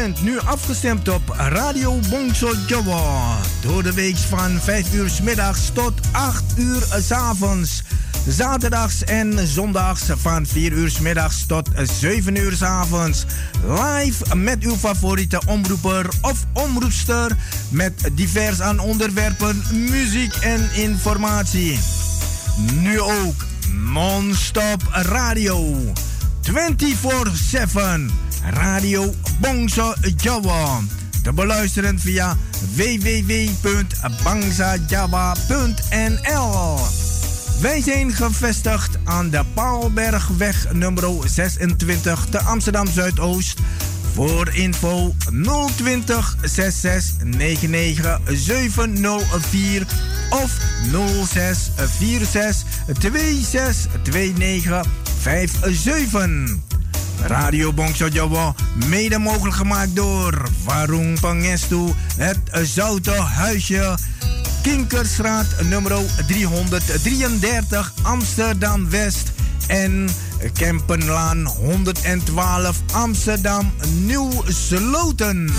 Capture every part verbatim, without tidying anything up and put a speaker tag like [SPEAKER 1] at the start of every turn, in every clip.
[SPEAKER 1] bent nu afgestemd op Radio Bongso Jawa. Door de week van vijf uur 's middags tot acht uur 's avonds. Zaterdags en zondags van vier uur 's middags tot zeven uur 's avonds. Live met uw favoriete omroeper of omroepster. Met divers aan onderwerpen, muziek en informatie. Nu ook non-stop radio. vierentwintig zeven. Radio Bongso Jawa. Te beluisteren via w w w punt bangsa jawa punt n l. Wij zijn gevestigd aan de Paalbergweg nummer zesentwintig te Amsterdam Zuidoost. Voor info nul twintig zesenzestig negenennegentig zevenhonderd vier of nul zes vier zes twee zes twee negen vijf zeven. Radio Bongso Jawa, mede mogelijk gemaakt door Warung Pangestu, het Zoute Huisje, Kinkerstraat nummer driehonderddrieëndertig Amsterdam West en Kempenlaan honderdtwaalf Amsterdam Nieuw Sloten.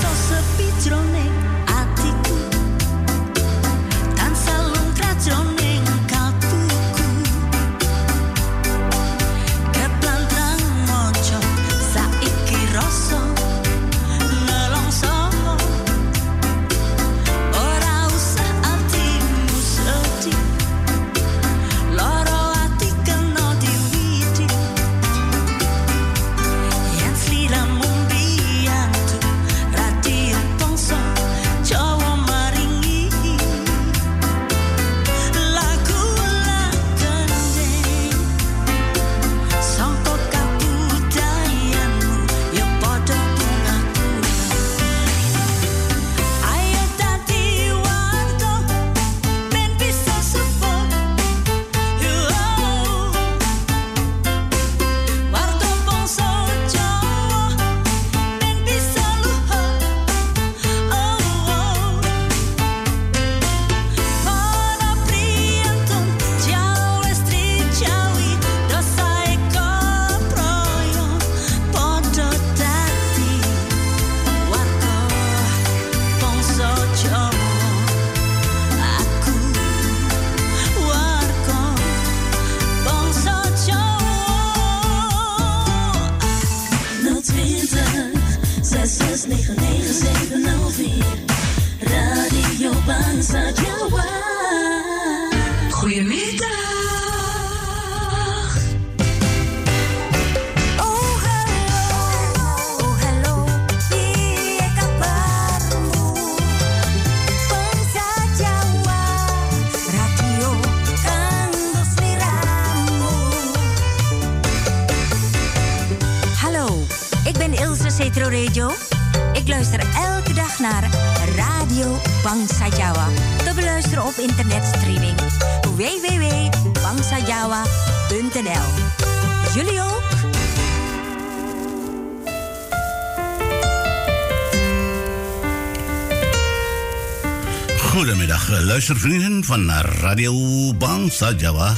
[SPEAKER 2] Goedemiddag, luistervrienden van Radio Bangsa Jawa.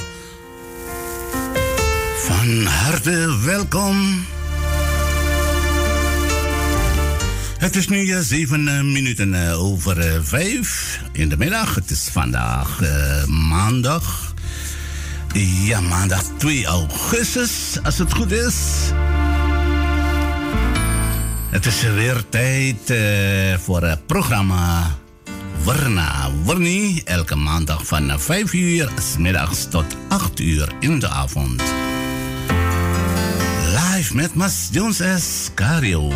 [SPEAKER 2] Van harte welkom. Het is nu zeven minuten over vijf in de middag. Het is vandaag uh, maandag. Ja, maandag twee augustus, als het goed is. Het is weer tijd uh, voor het programma Warna Warni, elke maandag van vijf uur 's middags tot acht uur in de avond. Live met Mas Jones S. Cario.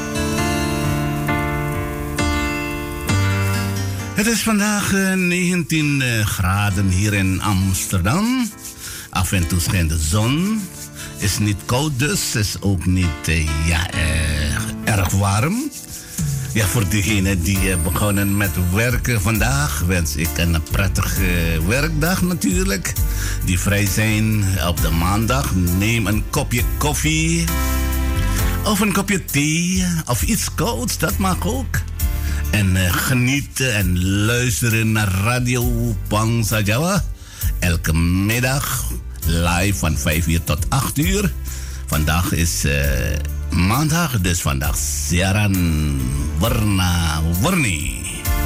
[SPEAKER 2] Het is vandaag uh, negentien uh, graden hier in Amsterdam. Af en toe schijnt de zon. Is niet koud dus, is ook niet uh, ja, uh, erg warm. Ja, voor diegenen die uh, begonnen met werken vandaag wens ik een prettige werkdag natuurlijk. Die vrij zijn op de maandag. Neem een kopje koffie of een kopje thee of iets kouds, dat mag ook. En uh, genieten en luisteren naar Radio Bangsa Jawa. Elke middag live van vijf uur tot acht uur. Vandaag is uh, maandag, dus vandaag siaran warna-warni.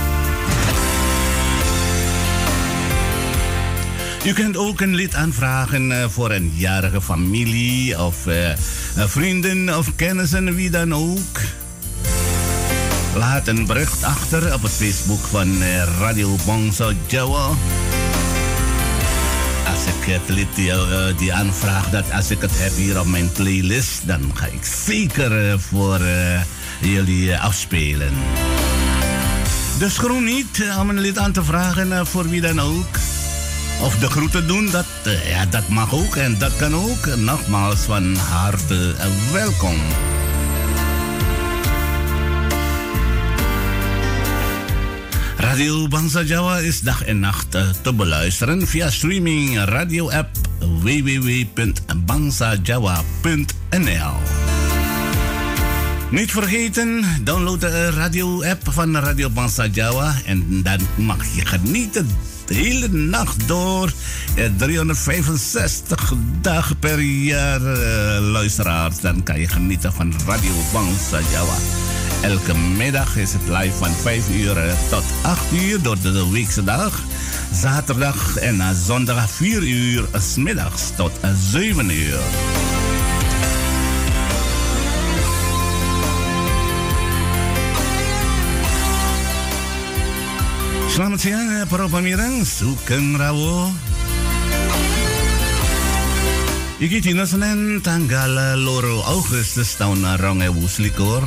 [SPEAKER 2] U kunt ook een lied aanvragen voor een jarige familie of uh, vrienden of kennissen, wie dan ook. Laat een bericht achter op het Facebook van uh, Radio Bangsa Jawa. Als ik het lied die, uh, die aanvraag, dat als ik het heb hier op mijn playlist, dan ga ik zeker uh, voor uh, jullie uh, afspelen. Dus gewoon niet om een lied aan te vragen uh, voor wie dan ook. Of de groeten doen, dat, uh, ja, dat mag ook en dat kan ook. Nogmaals van harte uh, welkom. Radio Bangsa Jawa is dag en nacht uh, te beluisteren via streaming radio-app w w w punt bangsa jawa punt n l. Niet vergeten, download de radio-app van Radio Bangsa Jawa en dan mag je genieten de hele nacht door. driehonderdvijfenzestig dagen per jaar, uh, luisteraars. Dan kan je genieten van Radio Bangsa Jawa. Elke middag is het live van vijf uur tot acht uur door de weekse dag. Zaterdag en zondag vier uur 's middags tot zeven uur. Selamat siang para pamirang, Sugeng Rawo. Iki dina Senin tanggal loro Agustus tahun rong ewu selikur.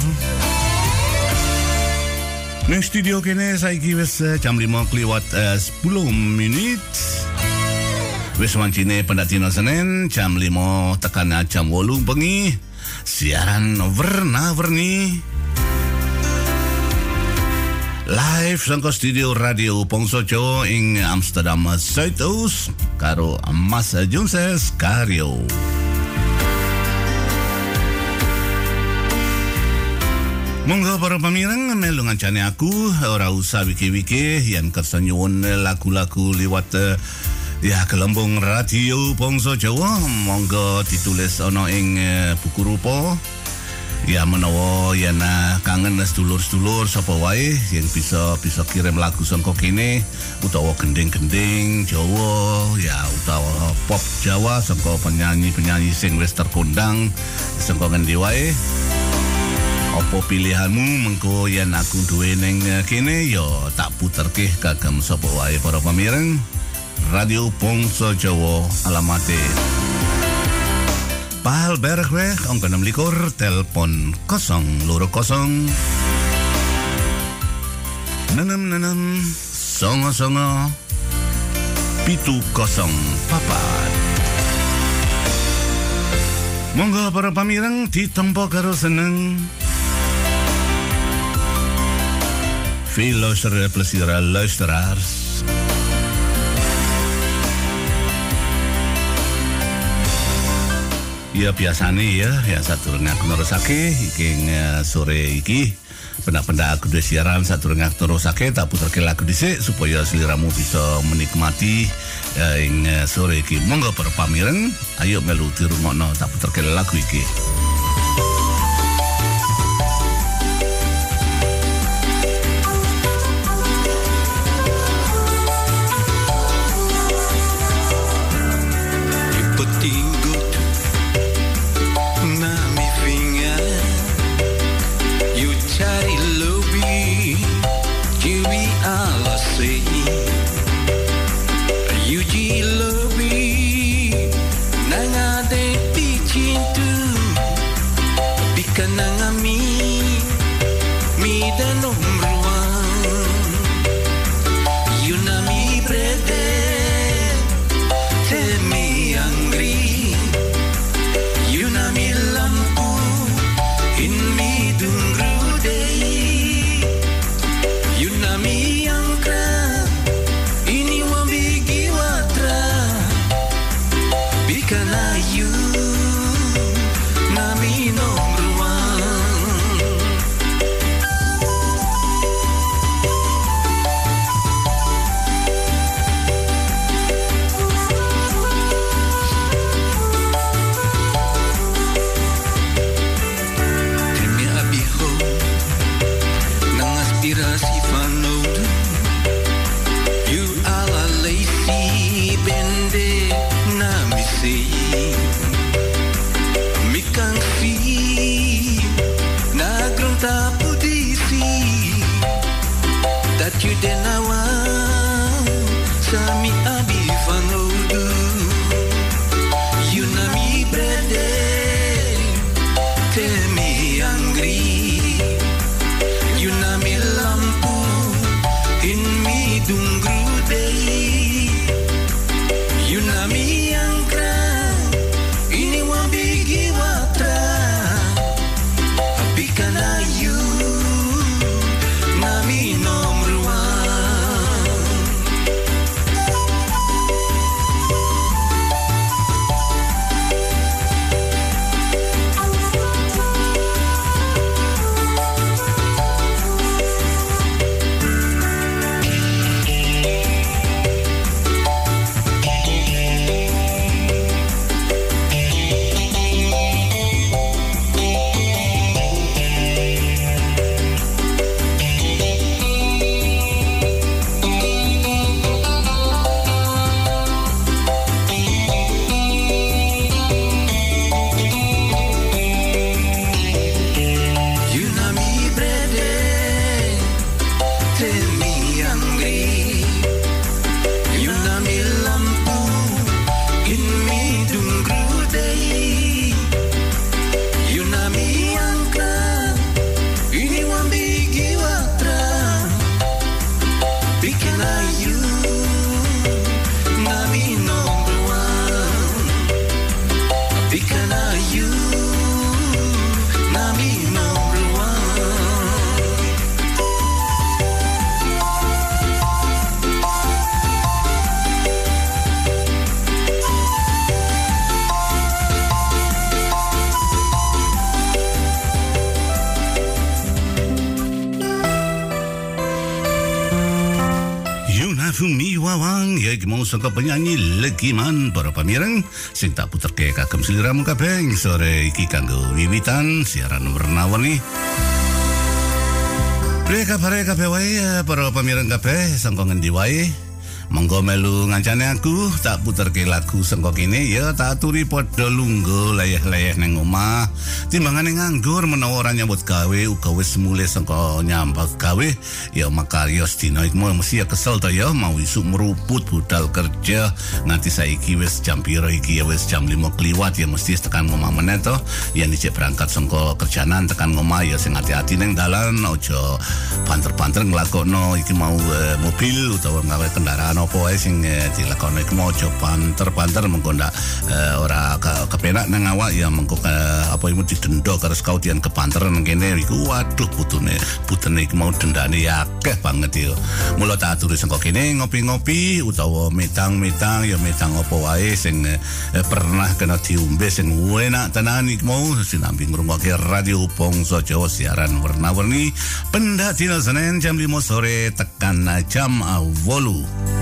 [SPEAKER 2] Neng studio kene saiki wis jam lima kliwat uh, sepuluh menit. Wis wancine pendak dina Senin jam lima tekan jam wolu bengi. Siaran warna-warni. Live sangka studio Radio Bangsa Jawa ing Amsterdam Zuidoost karo Mas Junses Karyo. Monggo para pamirang melu ngancane aku ora usah wiki-wiki yen kersa nyuwun lagu-lagu liwat uh, ya gelembung Radio Bangsa Jawa. Monggo ditulis ana ing uh, buku rupa. Ya menawa yen kangen sedulur-sedulur sapa wae yang bisa bisa kirim lagu sangka kene utawa gending-gending Jawa ya utawa pop Jawa sangka penyanyi-penyanyi sing wis terkondang sangka ngendi wae. Apa pilihanmu mengko yen aku duwe ning kene ya tak puterke kagem sapa wae para pamireng. Radio Bangsa Jawa alamate Pahal Bergweg, angka enam likur, telepon kosong, loro kosong, nenem nenem, songo songo, pitu kosong, papat. Monggo para pamirang ditempo karo seneng. Veel luister plezier luisteraars. Ya biasanya ya, ya saturunge aku nerusake iki sore iki. Pendak-pendak aku siaran saturunge aku nerusake tak puterke lagu dhisik supaya seliramu bisa menikmati uh, ing sore iki. Monggo para pamireng, ayo melu dirungokno tak puterke lagu iki.
[SPEAKER 3] Cintu tapu disi dat you denawa sami abi fanodu you nami brede temi angry you nami lampu in mi dungru dei you nami angkra ini wabigi watra apikana you nami nomor
[SPEAKER 2] Fumi wawang ya mau sangka penyanyi Legiman para pamireng sing tak puterke kagem sliramu kabeh sore iki kanggo wiwitan siaran warna-warni. Priye kabare kabeh wae para pamireng kabeh sangka ngendi wae monggo melu ngancane aku tak puterke lagu sangka kene ya tak aturi padha lungguh layah-layah nang omah timbangane nganggur menawa ora nyambut gawe uga wis mulih sangka nyambut gawe ya makarya sedina iku mesti ya kesel to ya mau isuk meruput budal kerja nganti saiki wis jam piro iki ya wis jam lima kliwat ya mesti tekan omah meneh to ya dicek berangkat sangka kerjaan tekan omah ya sing ati-ati ning dalan aja banter-banter nglakokno iki mau e, mobil utawa gawe kendaraan apa wae sing e, dilakoni iku aja banter-banter mengko ndak e, ora ke, kepenak nang awak ya mengko e, apa iku didenda karo sekaudian kepanteran kene iku waduh putune putune iku mau dendane ya akeh banget ya. Mula tak aturi sangka kene ngopi-ngopi utawa metang-metang ya metang apa wae sing e, pernah kena diombe sing enak tenan iku mau sinambi ngrungokke radio Bangsa Jawa siaran warna-warni pendak dina Senin jam lima sore tekan jam wolu.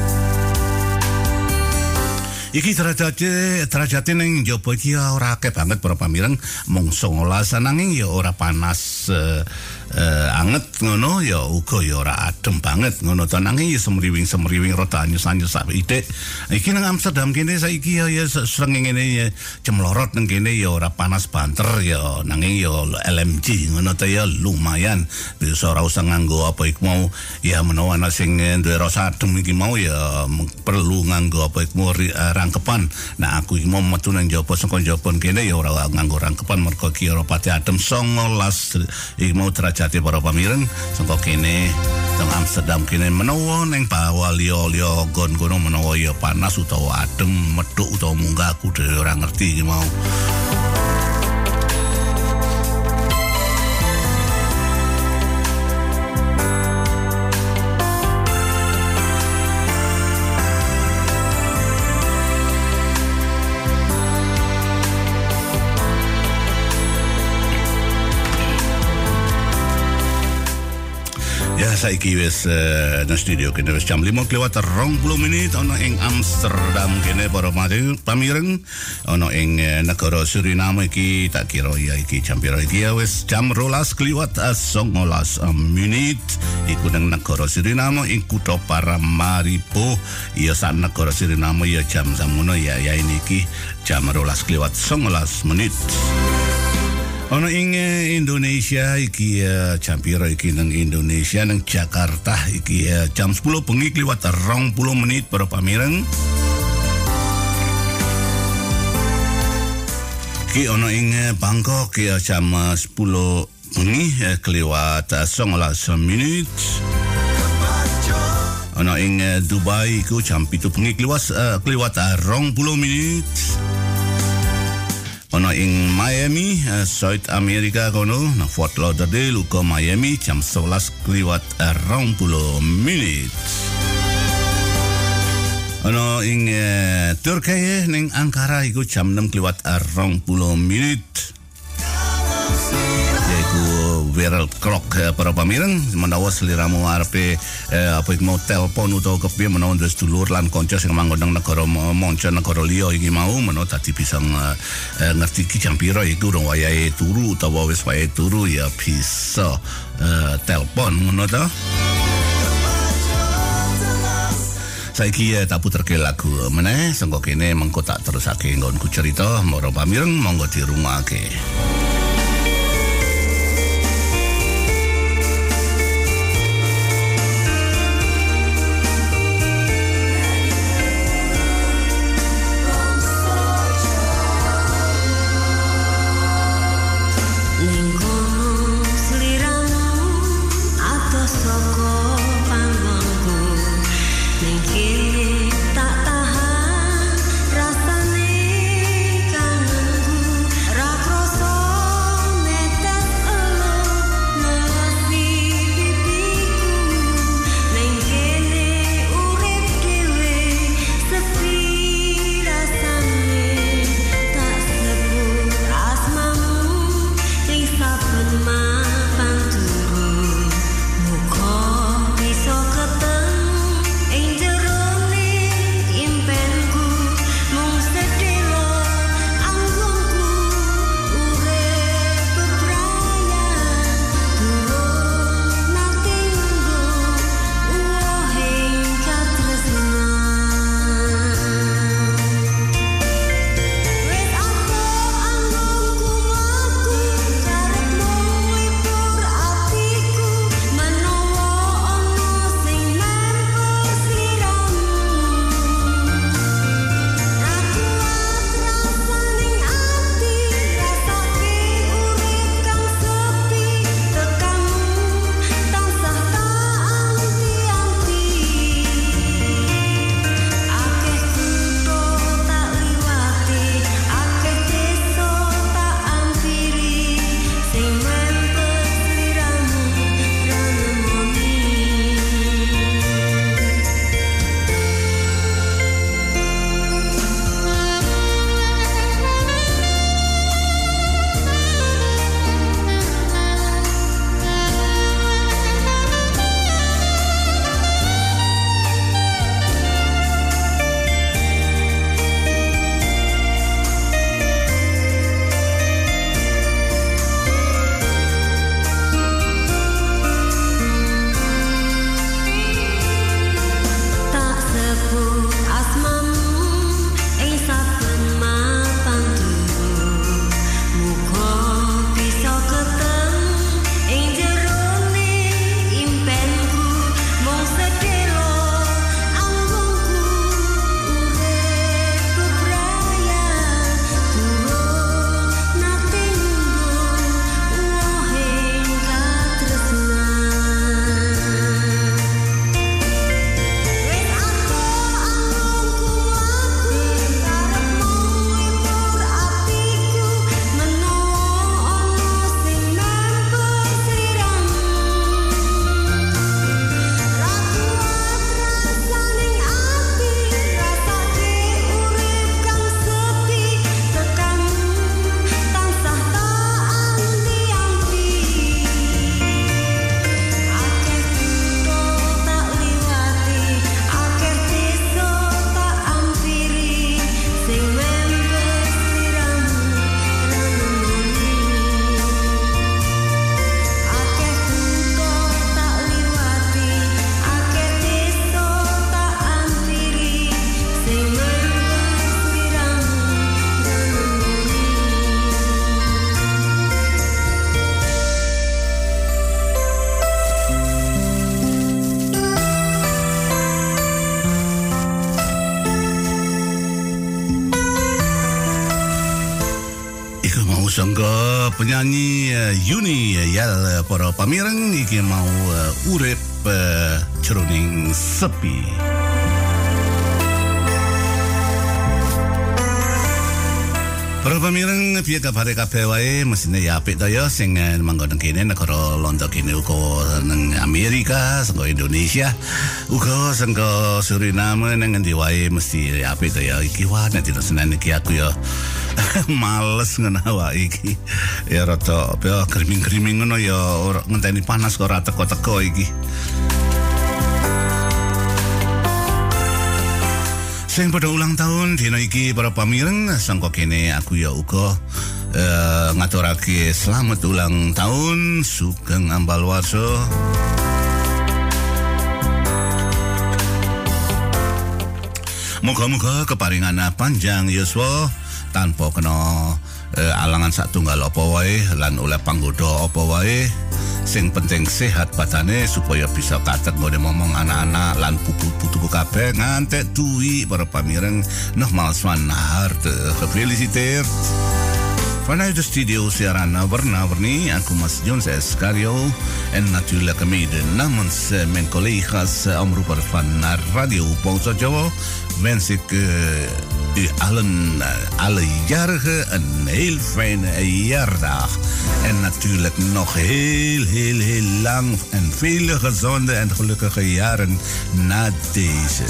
[SPEAKER 2] Iki derajate derajate ning njaba iki ora akeh banget para pamireng mung songolas nanging ya ora panas uh, uh, anget ngono ya uga ya ora adem banget ngono to nanging ya semriwing-semriwing rada anyus-anyus sak ithik. Iki nang Amsterdam kene saiki ya, ya srengenge ngene ya cemlorot nang kene ya ora panas banter ya nanging ya L M G ngono to ya lumayan bisa ora usah nganggo apa iku mau ya menawa ana sing duwe rasa adem iki mau ya perlu nganggo apa iku mau rangkepan. Nah aku iki mau metu nang njaba saka njaba kene ya ora nganggo rangkepan mergo iki ora pati adem songolas iki mau derajate para pamireng saka kene nang Amsterdam kene menawa ning bawah liya-liya gon kono menawa ya panas utawa adem medhuk utawa munggah aku dhewe ora ngerti iki mau. Ya saiki wis uh, nang studio kene wis jam lima lewat rong puluh menit ana ing Amsterdam kene para pamireng ana ing uh, negara Suriname iki tak kira ya iki jam piro iki ya wis jam rolas kliwat songolas menit iku nang negara Suriname ing kutha Paramaribo ya sak negara Suriname ya jam samono ya ya ini iki jam rolas kliwat songolas menit. Ono ing Indonesia iki uh, campiro iki nang Indonesia nang Jakarta iki uh, jam sepuluh bengi kliwat rong puluh menit para pamireng. Ki ono ing Bangkok ya jam sepuluh bengi uh, kliwat uh, songolas menit. Ono ing uh, Dubai iku jam pitu bengi kliwat uh, kliwat uh, rong puluh menit. Ono ing Miami, uh, South America kono, na Fort Lauderdale uga Miami jam sebelas kliwat rong puluh menit. Ono ing uh, Turki ning Ankara iku jam enam kliwat rong puluh menit. Yaiku World Clock uh, para pamireng menawa seliramu arepe uh, apa mau telepon utawa kepiye menawa wis dulur lan kanca sing manggon nang negara manca negara liya iki mau menawa dadi bisa uh, uh, ngerti iki jam pira iku urung wayahe turu utawa wis wayahe turu ya bisa uh, telepon ngono ta. Saiki uh, tak puterke lagu meneh sangko kene mengko tak terusake nggonku cerita para pamireng monggo dirungokake.
[SPEAKER 4] Rasane kangenku ra kroso
[SPEAKER 2] Sangga penyanyi uh, Yuni uh, yal para pamireng iki mau uh, urip uh, jroning sepi. Para pamireng piye kabare kabeh wae mesine ya apik to ya sing manggon kene negara Londo kene uga nang Amerika, saka Indonesia, uga saka Suriname nang endi wae mesti apik to ya iki wae nek dina Senin iki aku ya males ngono wae iki. Ya rada apa kriming-kriming ngono ya ora ngenteni panas kok ora teko-teko iki. Sing pada ulang tahun dina iki para pamireng sangka kene aku ya uga uh, ngaturake selamat ulang tahun sugeng ambal warsa. Moga-moga keparingan panjang yuswa tanpa kena uh, alangan satunggal apa wae lan oleh panggoda apa wae. Sing penting sehat badane supaya bisa katet ngene momong anak-anak lan putu-putu kabeh ngantek duwi para pamireng nogmaals van harte gefeliciteerd. Vanuit de studio Sierra Warna-Warni, aku Mas Jones Escario en natuurlijk mede namens uh, mijn collega's uh, omroeper van Radio Bongso Jawa wens ik uh, u allen, uh, alle jarigen een heel fijne jaardag. En natuurlijk nog heel, heel, heel lang en vele gezonde en gelukkige jaren na deze.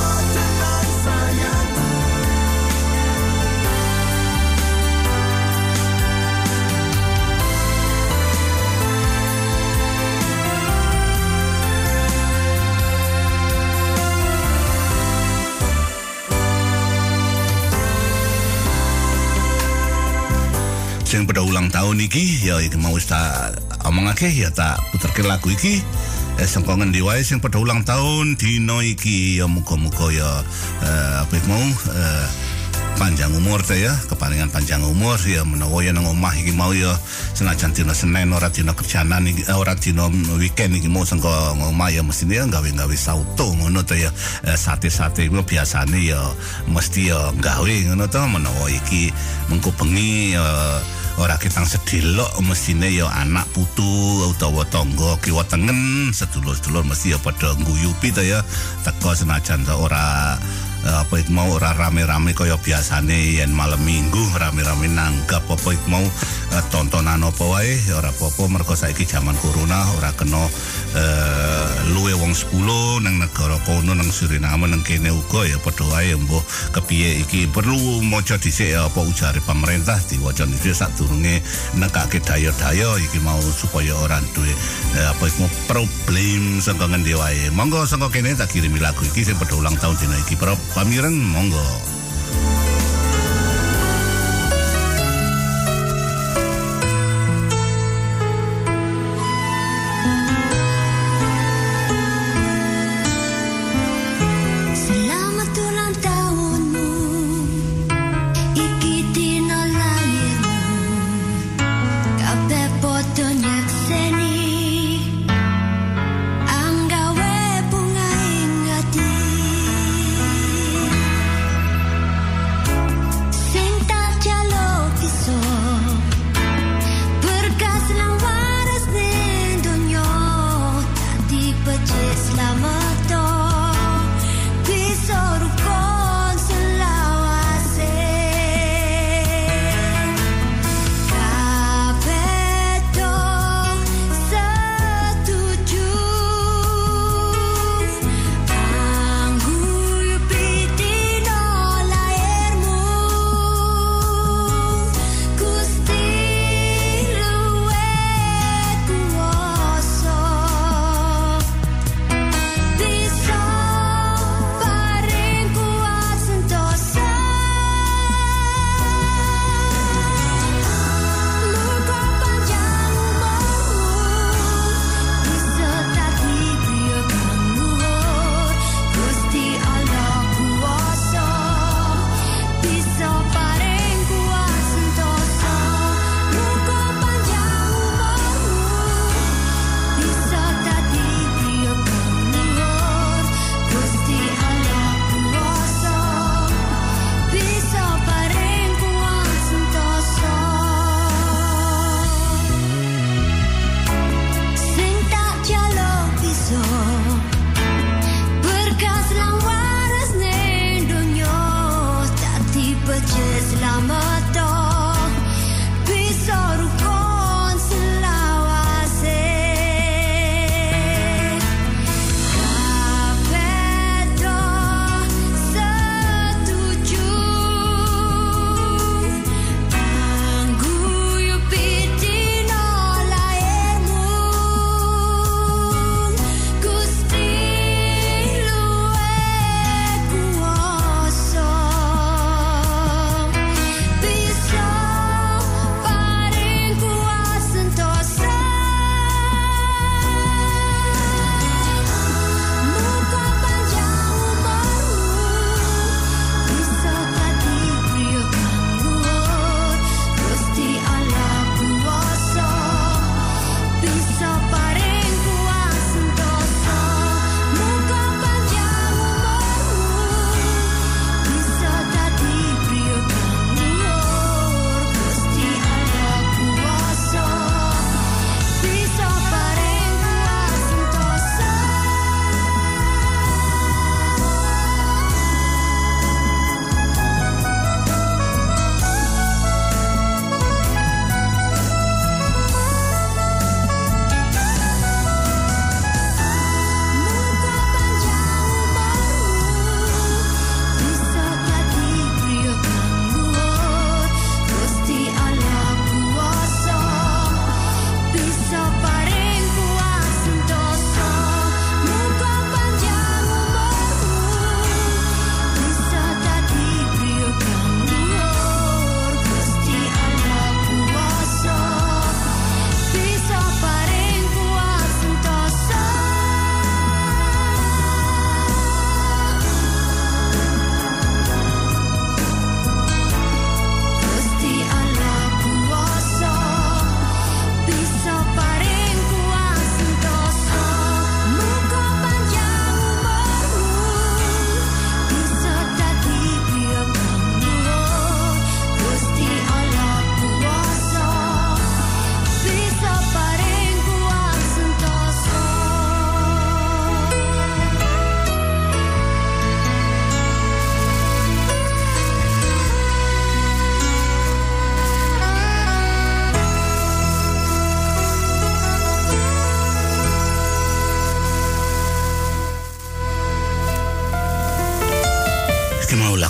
[SPEAKER 2] Sing pada ulang tahun iki ya iki mau tak omongake ya tak puterke lagu iki eh sangka ngendi wae sing pada ulang tahun dina iki ya muga-muga ya eh, apa mau eh, panjang umur teh ya keparingan panjang umur ya menawa ya nang omah iki mau ya senajan dina Senin ora dina kerjaan iki ora dina weekend iki mau sangka omah ya mestine ya gawe-gawe sauto ngono teh ya eh, sate-sate ku biasane ya mesti ya gawe ngono to menawa iki mengko bengi ya ora kitang sedilok mestine ya anak putu utawa tangga kiwa tengen sedulur-sedulur mesti ya padha ngguyupi ta ya teko senajan ta ora apa itu mau ora rame-rame kaya biasane yen malam minggu rame-rame nanggap apa itu mau uh, tontonan apa wae ora apa-apa mergo saiki jaman corona ora kena uh, luwe wong sepuluh nang negara kono nang Suriname nang kene uga ya padha wae mbah kepiye iki perlu maca dhisik apa ujare pemerintah diwaca dhisik sadurunge nekake daya-daya iki mau supaya ora duwe uh, apa itu problem sangka ngendi wae monggo sangka kene tak kirimi lagu iki sing padha ulang tahun dina iki para pamireng monggo.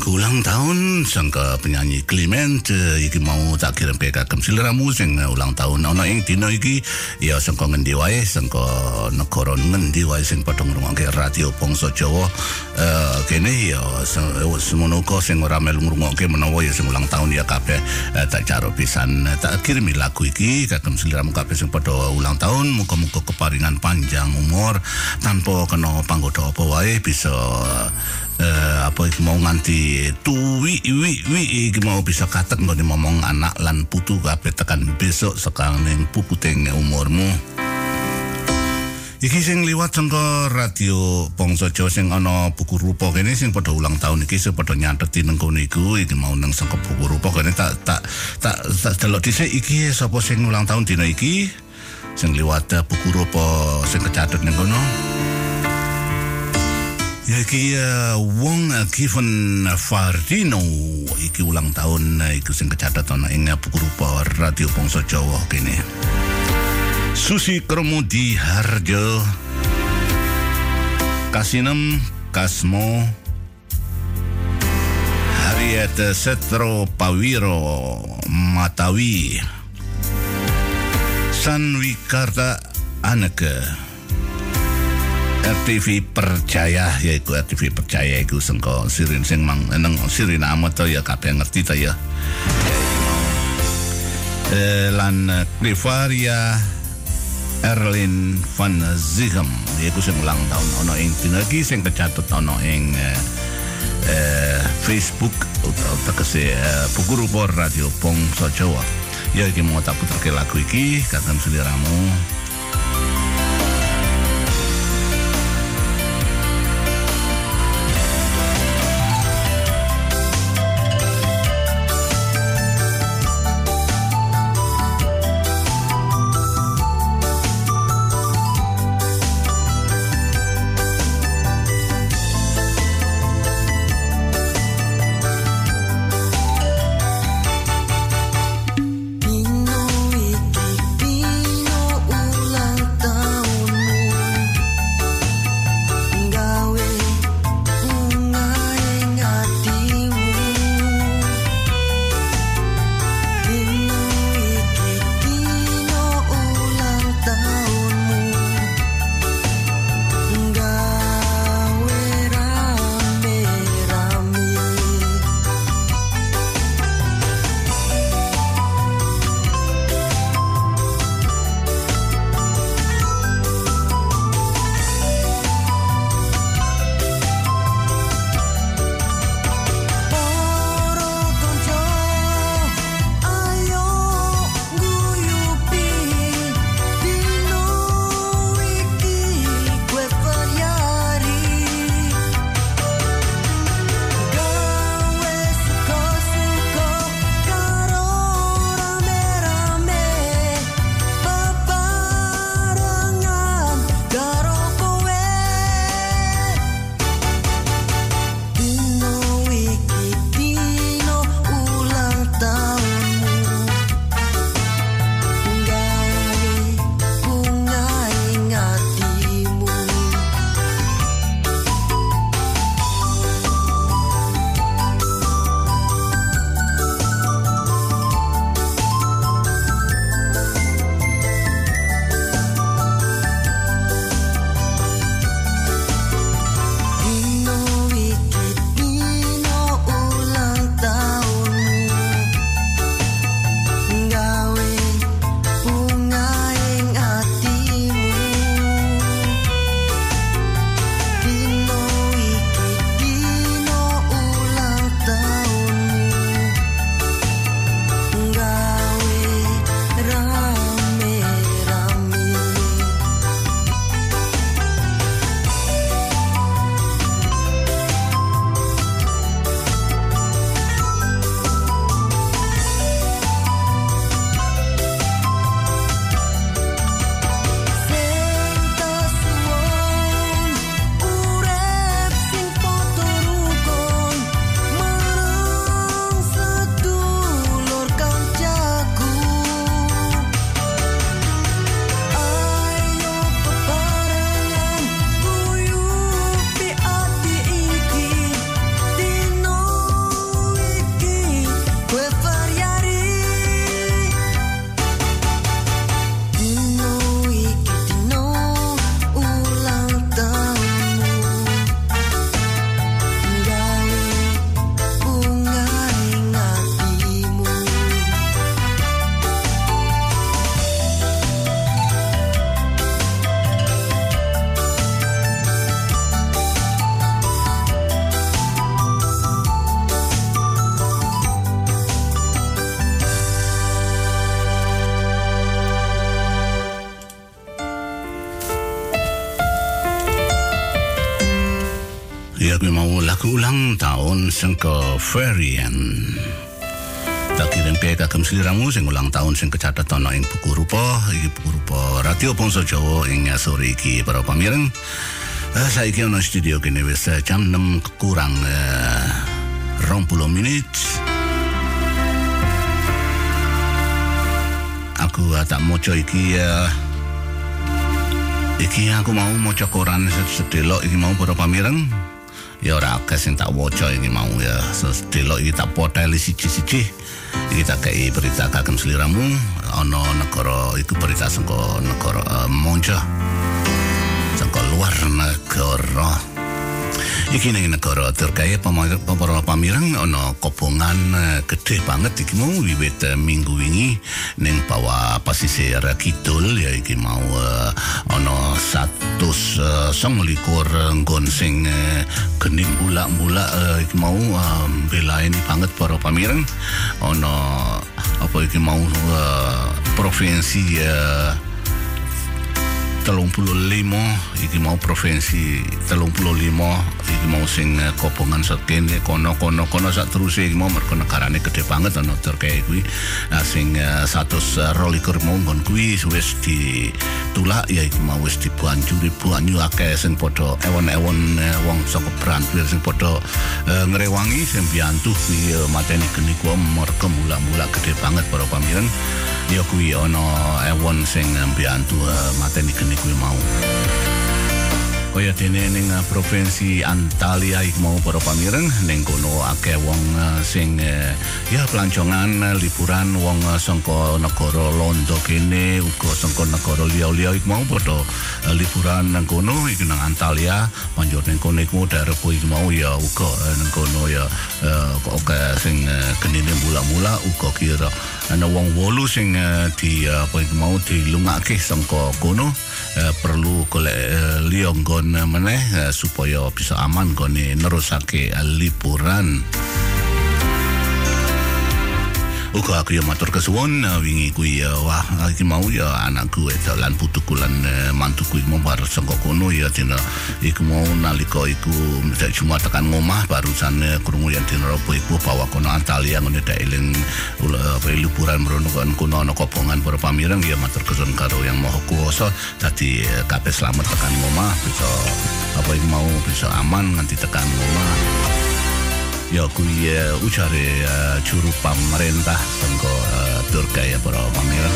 [SPEAKER 2] lagu ulang tahun sangka penyanyi Clement iki mau tak kirim ke kagem sliramu sing ulang tahun ana ing dina iki ya sangka ngendi wae sangka negara ngendi wae sing padha ngrungokke radio Bangsa Jawa uh, kene ya semono kok sing ora melu ngrungokke menawa ya sing ulang tahun ya kabeh uh, tak jaro pisan uh, tak kirimi lagu iki kagem sliramu kabeh sing padha ulang tahun muga-muga keparingan panjang umur tanpa kena panggoda apa wae bisa Uh, apa iki mau nganti tuwi wi wi iki mau bisa katek nggone ngomong anak lan putu kabeh tekan besok sekarang ning puputeng umurmu. Iki sing liwat sangka radio Bangsa Jawa sing ana buku rupa kene sing padha ulang tahun iki sing padha nyateti nang kono iku iki mau nang sangka buku rupa kene tak tak tak tak delok dhisik iki sapa sing ulang tahun dina iki sing liwat buku rupa sing kecatet nang kono. Ya iki uh, wong uh, Kevin Fardino iki ulang tahun uh, iku sing kecatet ana ing buku rupa radio Bangsa Jawa kene. Susi Kromudi Harjo Kasinem Kasmo Harriet Setro Pawiro Matawi Sanwikarta Aneke R T V Percaya yaiku R T V Percaya iku sengko sirin sing mang nang sirin amat to ya kabeh ngerti to ya. Eh lan Clivaria Erlin van Zigem yaiku sing ulang tahun ana ing dina iki sing kecatet ana ing eh Facebook utawa tegese eh, buku rupa radio Bangsa Jawa. Ya iki mau tak puterke lagu iki kagem sliramu.
[SPEAKER 3] Pino iki pino
[SPEAKER 2] Ya kuwi mau lagu ulang tahun sing ke Ferian. Tak kirim pe kagem sliramu sing ulang tahun sing kecatet ana ing buku rupa iki buku rupa Radio Bangsa Jawa ing sore iki para pamireng. Uh, saiki ana studio kene wis uh, jam enam kurang uh, dua puluh menit. Aku uh, tak moco iki uh, iki aku mau moco koran sedelok iki mau para pamireng. Ya ora akeh sing tak waca iki mau ya. Sedelok iki tak poteli siji-siji. Iki tak kei berita kagem sliramu ana negara iku berita saka negara uh, Monja. Saka luar negara. Iki ning negara Turki para pamireng ana kobongan gede banget iki mau wiwit minggu wingi ning bawah pesisir kidul ya iki mau uh, ana satus songolikur nggon sing uh, gening mulak-mulak uh, iki mau uh, belaeni banget para pamireng ana apa iki mau uh, provinsi uh, telung puluh lima iki mau provinsi telung puluh lima iki mau sing kobongan sekene kono-kono kono sak terus iki mau mergo negarane gede banget ana Turki kuwi sing seratus dua puluh lima mau nggon kuwi wis ditulak ya iki mau wis dibanjuri banyu akeh sing padha ewon-ewon wong saka Branwil sing padha uh, ngrewangi sing biantu kuwi mateni geni kuwi mergo mula-mula gede banget para pamireng ya kuwi ana ewon sing biantu uh, mateni geni kuwi mau. Kaya dene ning uh, provinsi Antalya iki mau para pamireng ning kono akeh wong uh, sing uh, ya pelancongan uh, liburan wong uh, saka negara Londo kene uga saka negara liya-liya iki mau padha uh, liburan nang kono iki nang Antalya banjur ning kono iku daerah iki mau ya uga uh, nang kono ya uh, kok sing uh, genine mula-mula uga kira ana wong wolu sing uh, di uh, apa iki mau dilungake saka kono uh, perlu golek uh, liya meneh uh, supaya bisa aman gone nerusake uh, liburan. Uga aku ya matur kesuwun uh, wingi kuwi uh, wah iki mau ya anakku eta lan putuku lan uh, mantuku mau bar saka kono ya dina iku mau nalika iku cuma tekan ngomah barusan uh, krungu yen dina Rabu iku bawa kono Antalya ngene dak eling uh, liburan merono kono ana kobongan para pamireng ya matur kesuwun karo Yang Maha Kuwasa dadi uh, kabeh slamet tekan ngomah bisa apa iku mau bisa aman nganti tekan ngomah. Ya kuwi uh, ucare uh, juru pemerintah sangko uh, Turki ya para pamireng.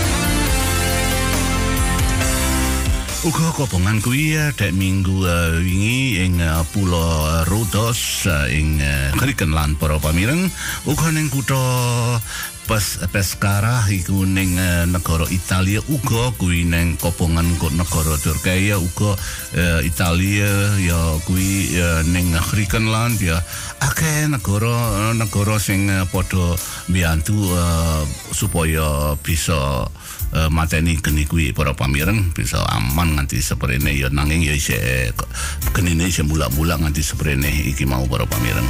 [SPEAKER 2] Uga kobongan kuwi uh, dek minggu uh, wingi ing uh, Pulau Rhodos uh, ing uh, Grikenland para pamireng uga ning kutha Pas Pescara iku ning uh, negara Italia uga kuwi ning kobongan kok negara Turki ya uga uh, Italia ya kuwi uh, ning Grikenland ya akeh negara negara sing uh, padha mbiyantu uh, supaya bisa uh, mateni geni kuwi para pamireng bisa aman nganti seprene ya nanging ya isih genine isih mulak-mulak nganti seprene iki mau para pamireng.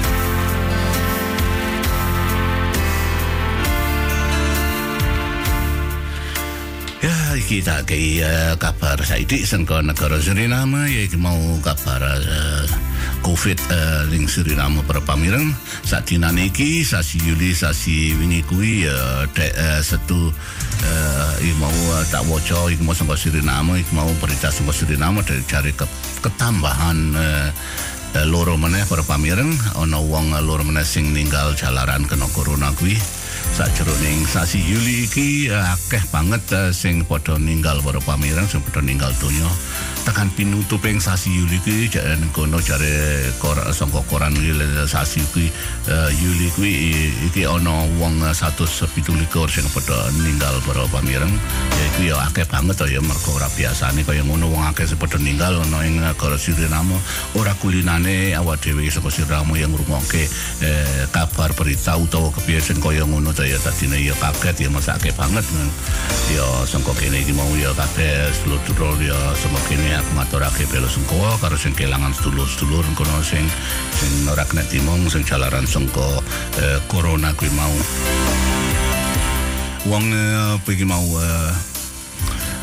[SPEAKER 2] Ya, kita ke uh, kabar saiki sangka negara Suriname ya mau kabar uh, COVID uh, ning Suriname para pamireng sadinane iki sasi Juli sasi wingi kuwi uh, dek uh, setu uh, iki mau uh, tak waca iki mau sangka Suriname iki mau berita sangka Suriname dari cari ke, ketambahan uh, uh, loro meneh para pamireng ana wong uh, loro meneh sing ninggal jalaran kena corona kuwi. Sajroning sasi Juli iki uh, akeh banget uh, sing padha ninggal para pamireng sing padha ninggal donya tekan pinutuping sasi Juli iki jan kono jare kor sangka koran sasi kuwi uh, Juli kuwi iki ana wong seratus pitu likur sing padha ninggal para pamireng ya iku ya akeh banget ya mergo ora biasane kaya ngono wong akeh sing padha ninggal ana ing negara Suriname ora kulinane awak dhewe saka Suriname yang ngrungokke eh, kabar berita utawa kebiasaan kaya ngono ya tadine ya kaget ya masake banget ya sangka kene iki mau ya kabeh sedulur ya sangka kene aku maturake bela sungkawa karo sing kelangan sedulur-sedulur kono sing sing ora kena timong sing jalaran sangka eh, corona kuwi mau wong eh, iki mau eh,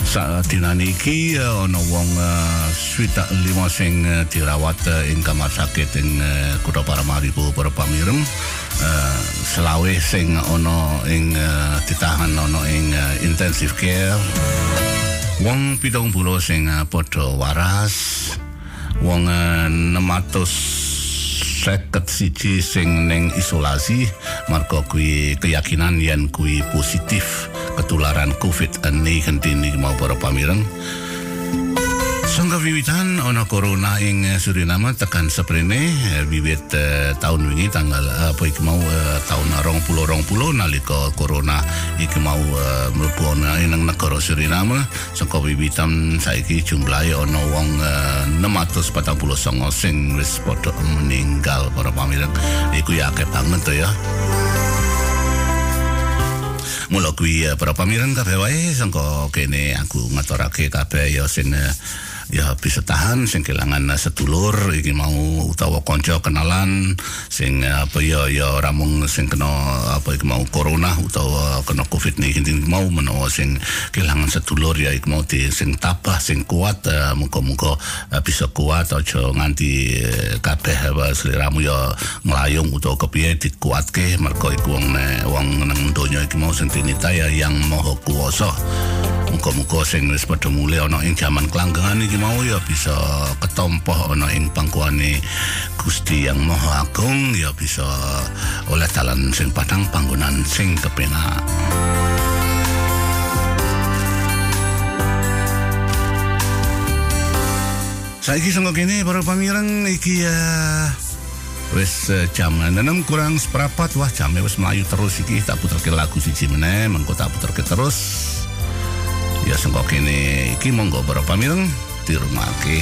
[SPEAKER 2] Saat dinani iki ana wong swidak lima sing dirawat ing kamar sakit ing Kutha Paramaribo para pamireng. Selawe sing ana ing ditahan ana ing intensive care. Wong pitung puluh sing padha waras. Wong enam atus seket siji sing ning isolasi marga kuwi keyakinan yen kuwi positif ketularan covid sembilan belas iki mau para pamireng. Sangga wiwitan ana corona ing Suriname tekan seprene wiwit uh, tahun wingi tanggal uh, apa iki mau uh, tahun dua ribu dua puluh nalika corona iki mau uh, mlebu ana ing negara Suriname. Sangka wiwitan saiki jumlahe ana wong uh, enam atus patang puluh sanga sing wis padha meninggal para pamireng. Iku ya akeh banget to ya. Mula kuwi para pamireng kabeh wae sangka kene aku ngaturake kabeh ya sing ya bisa tahan sing kelangan sedulur iki mau utawa kanca kenalan sing apa ya ya ora mung sing kena apa iki mau corona utawa kena covid sembilan belas mau menawa sing kelangan sedulur ya iki mau di sing tabah sing kuat uh, muga-muga uh, bisa kuat aja nganti uh, kabeh uh, sliramu ya nglayung utawa kepiye dikuatke mergo iku wong wong nang donya iki mau sing dinitaya yang maha kuwasa. Muga-muga sing wis padha mulih ana ing jaman kelanggengan iki mau ya bisa ketompoh ana ing pangkuane Gusti Yang Maha Agung ya bisa oleh dalan sing padang panggonan sing kepenak. Saiki sanggo kene para pamireng iki ya wis uh, jam enam kurang seperempat wah jame wis mlayu terus iki tak puterke lagu siji meneh mengko tak puterke terus. Ya sangka kene iki monggo para pamireng dirumahke.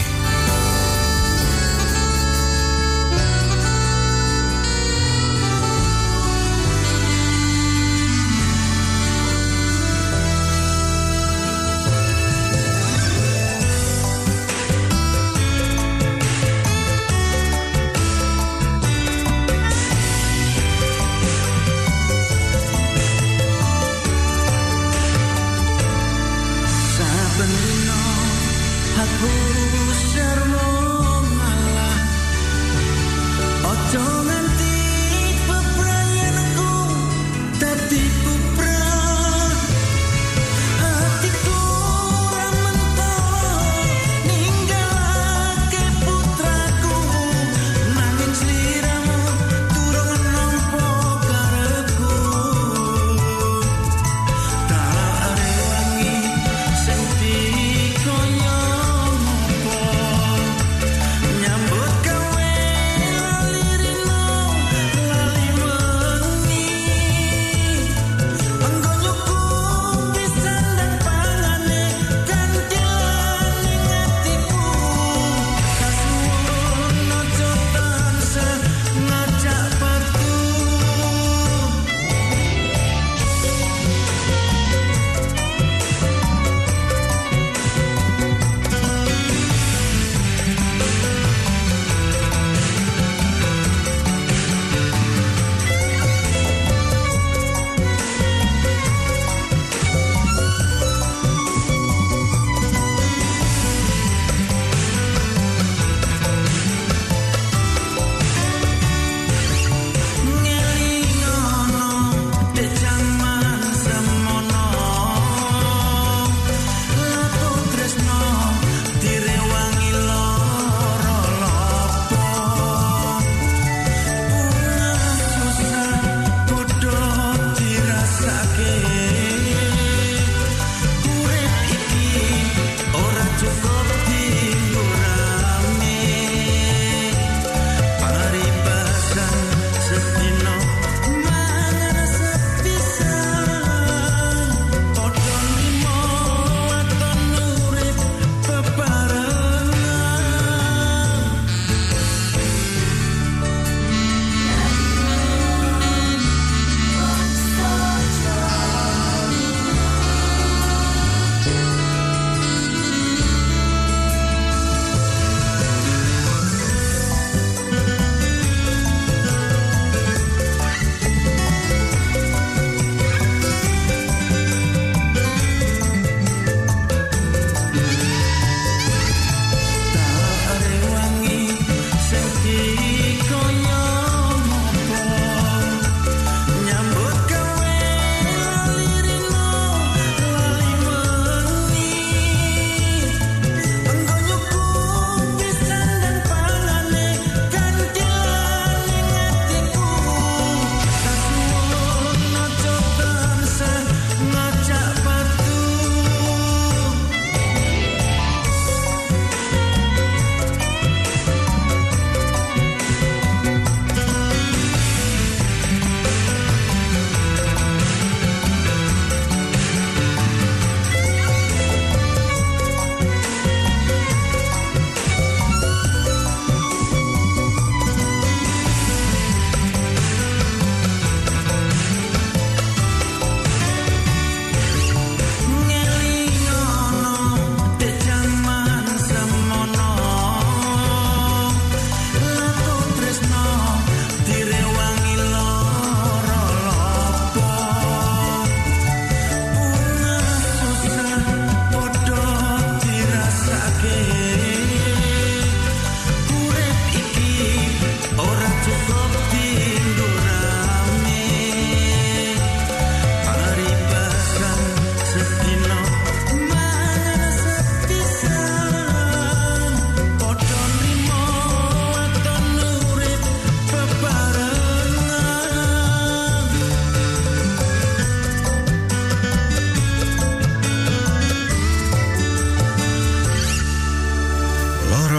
[SPEAKER 3] Nyambut gawe lalirino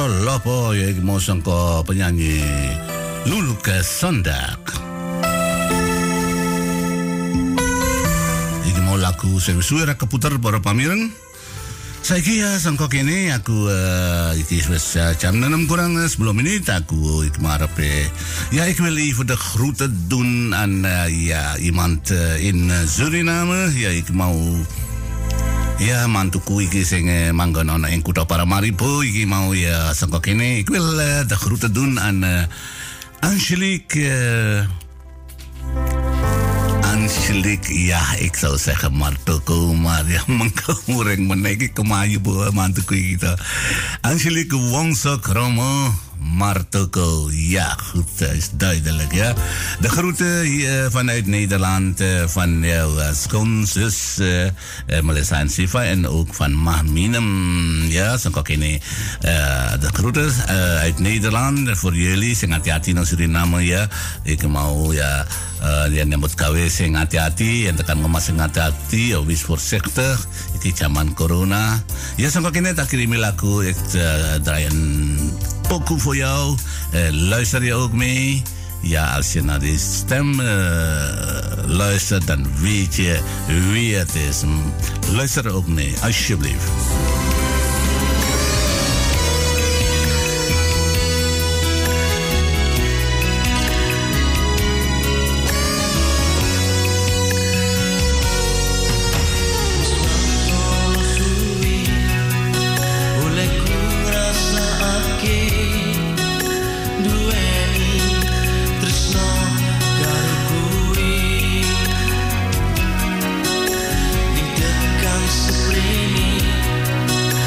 [SPEAKER 2] Loro Lopo ya iki mau sangka penyanyi Luluke Sondak. Iki mau lagu sing suwe keputer para pamireng. Saiki ya sangka kene aku uh, iki wis uh, jam enam kurang sepuluh menit aku ik maarepe. Ja, ik wil even de groeten doen aan uh, ja, iemand uh, in uh, Suriname. Ja, ik mau ya mantuku iki sing uh, manggon ana ing kutha Paramaribo iki mau ya sangka kene. Ik wil uh, de groeten doen aan uh, Angelique uh, Angelique, ja, ik zou zeggen Martoko, maar ja, mengkurang menaiki kemayu buat mantuku kita. Angelique Wongsok Romo Martoko, ja, goed, dat is duidelijk, ja. De groeten hier vanuit Nederland van jouw schoonzus uh, Melissa Siva en ook van Mahminem, ja, zo kok ini. Uh, de groeten uh, uit Nederland voor jullie, sing hati-hati no Suriname, ya. Ik mau, ya, uh, yang nyambut kawe sing hati-hati, yang tekan ngomong sing hati-hati, ya wis voorzichtig, iki zaman corona. Ja, zo kok ini tak kirimi lagu, ik uh, draaien pokoe voor jou. Uh, luister je ook mee? Ja, als je naar die stem uh, luistert, dan weet je wie het is. Luister ook mee, alsjeblieft.
[SPEAKER 3] Supreme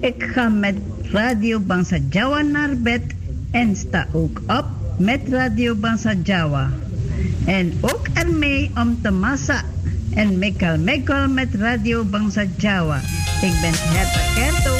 [SPEAKER 4] Ik ga met Radio Bangsa Jawa naar bed en sta ook op met Radio Bangsa Jawa. En ook ermee om te massa en mekal mekal met Radio Bangsa Jawa. Ik ben Herta Kerto.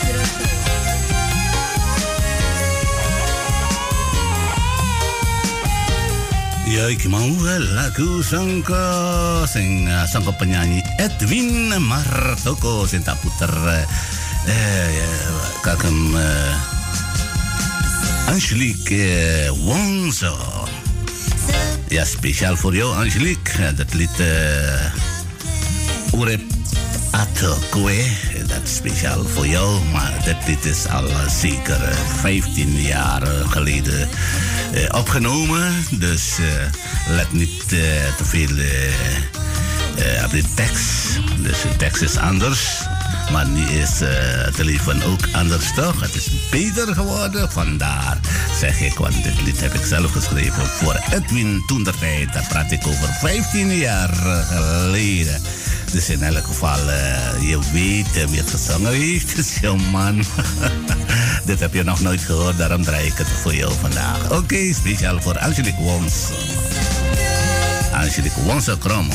[SPEAKER 2] Ya, ik mau lagu sangka sing uh, sangka penyanyi Edwin Martoko sing tak puter eh ya, kagem uh, Angelique uh, Wongso. Ja, speciaal voor jou Angelique. Dat lied uh, Urep Ato Koe. Dat is speciaal voor jou. Maar dat lied is al uh, zeker uh, vijftien jaar geleden uh, opgenomen. Dus uh, let niet uh, te veel uh, uh, op de tekst. Dus de tekst is anders. Maar nu is uh, het telefoon ook anders toch? Het is beter geworden. Vandaar zeg ik, want dit lied heb ik zelf geschreven voor Edwin toen der tijd. Daar praat ik over vijftien jaar geleden. Dus in elk geval, uh, je weet uh, wie het gezongen heeft. Dus jouw man. Dit heb je nog nooit gehoord, daarom draai ik het voor jou vandaag. Oké, okay, speciaal voor Angelique Wons. Angelique Wons Kromo.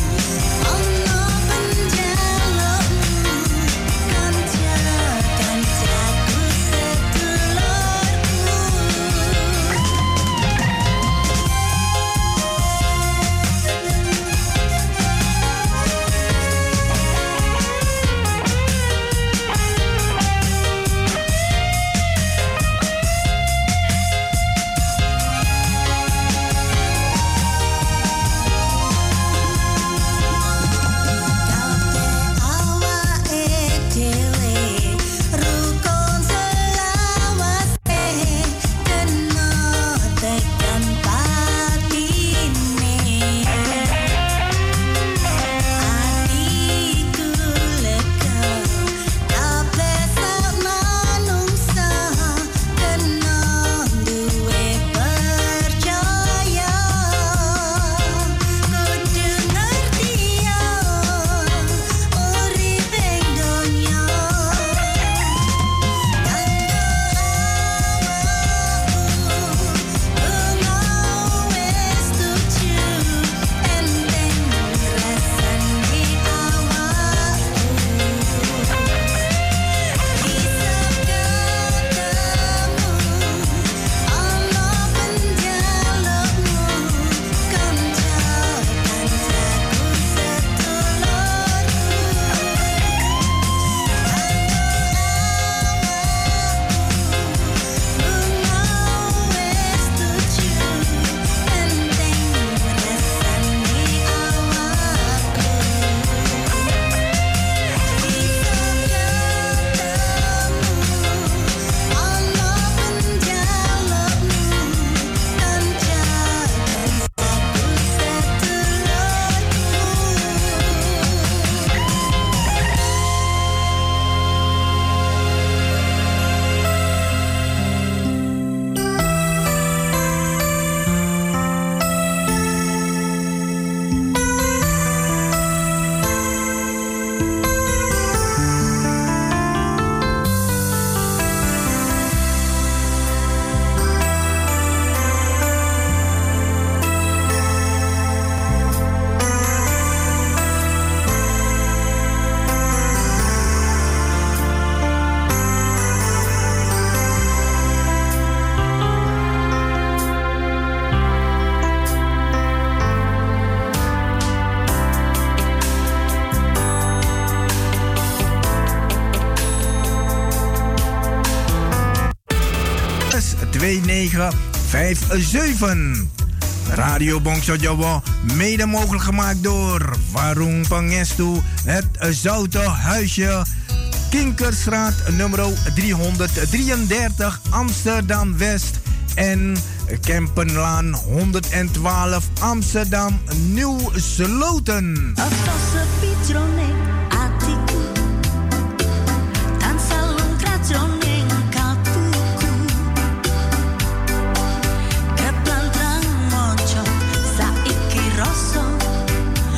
[SPEAKER 1] twee negen vijf zeven. Radio Bongso Jawa, mede mogelijk gemaakt door Warung Pangestu, het Zoute Huisje, Kinkerstraat nummer driehonderddrieëndertig, Amsterdam West en Kempenlaan honderdtwaalf, Amsterdam Nieuw Sloten.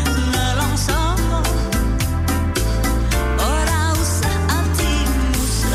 [SPEAKER 5] Ora usah hatimu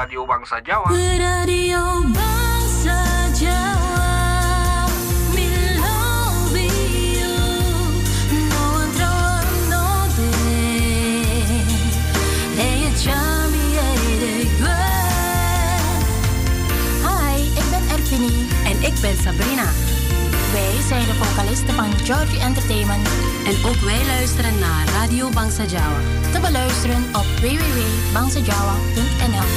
[SPEAKER 1] Radio Bangsa Jawa.
[SPEAKER 5] Radio Bangsa Jawa, me love you, no one throw no day. Hey, chubby, hey, hi, ik ben Ervini
[SPEAKER 6] en ik ben Sabrina.
[SPEAKER 5] Wij zijn de vocalisten van Georgie Entertainment.
[SPEAKER 6] En ook wij luisteren naar Radio Bangsa Jawa.
[SPEAKER 5] Te beluisteren op w w w punt bangsa jawa punt n l.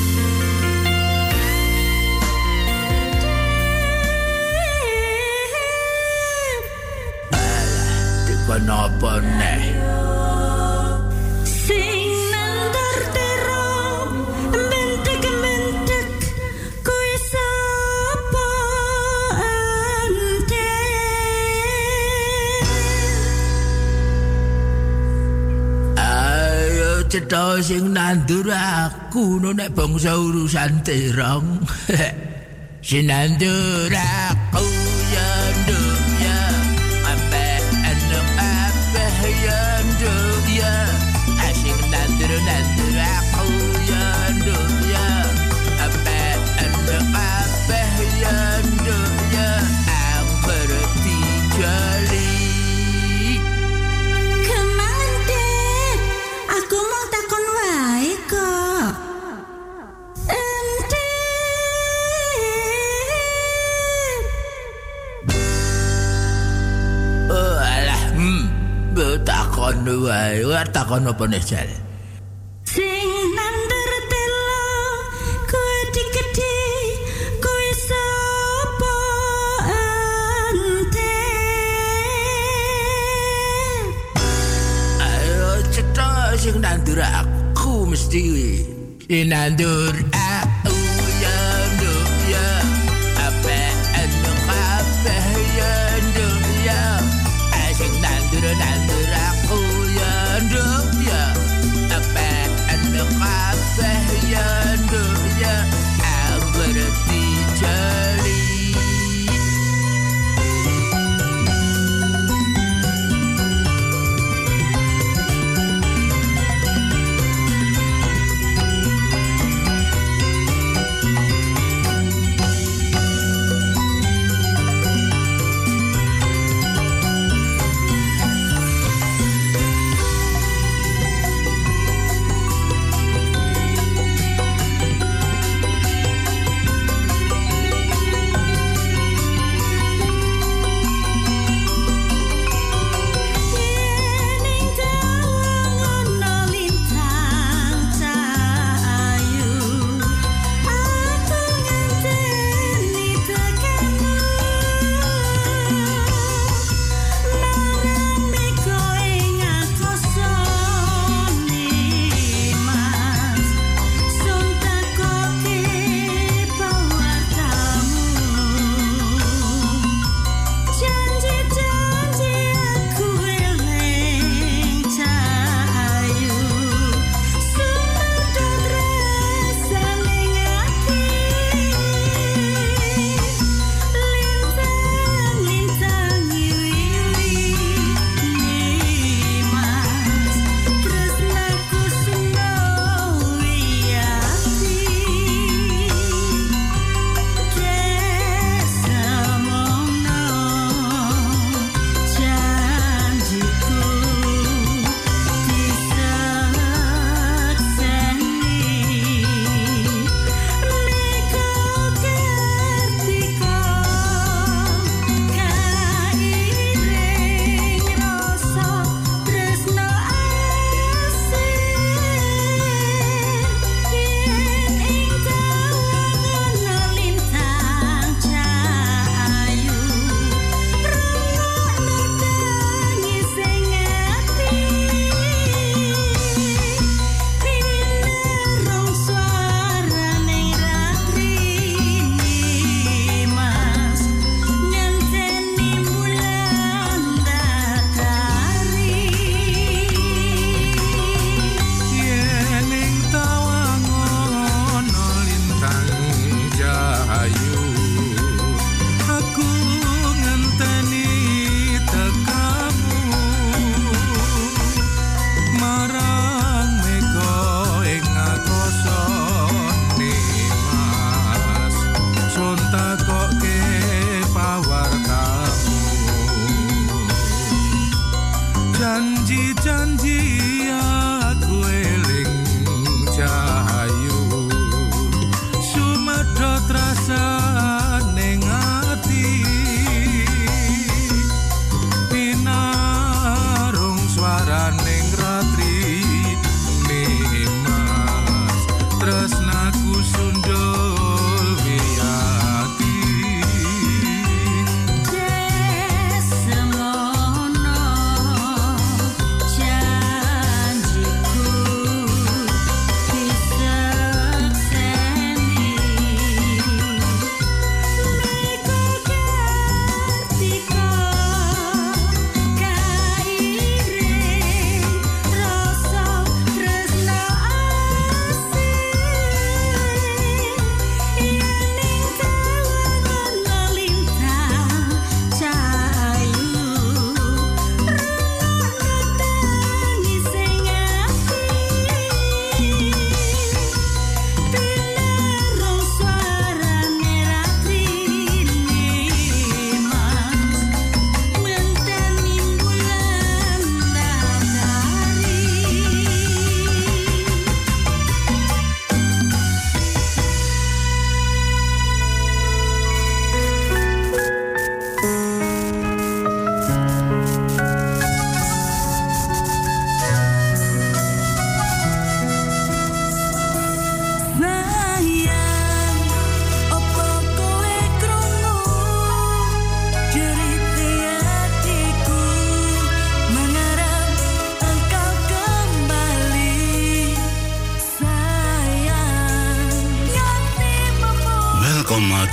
[SPEAKER 3] Kenapa nih?
[SPEAKER 5] Sing nandar terong, bentek-bentek, kui sapa ante.
[SPEAKER 3] Ayo cetha sing nandur aku no nek bangsa urusan terong. Sinandur aku ya nduk ya. Nandur aku ya nduk ya, apa anda apa ya nduk ya, ang berarti jali.
[SPEAKER 5] Kemanten, aku mau takon wae kok. Ente.
[SPEAKER 3] Oh alah, hmm, takon wae, war takon apa nih jal?
[SPEAKER 5] Sing nandur telo, kowe dikedi, kowe sapa ante.
[SPEAKER 3] Ayo cetha sing nandur aku mesti sing nandur aku ya nduk ya, apa anu apa ya nduk ya, sing nandur nandur aku ya nduk ya, apa kabeh ya nduk ya, aku berarti jali.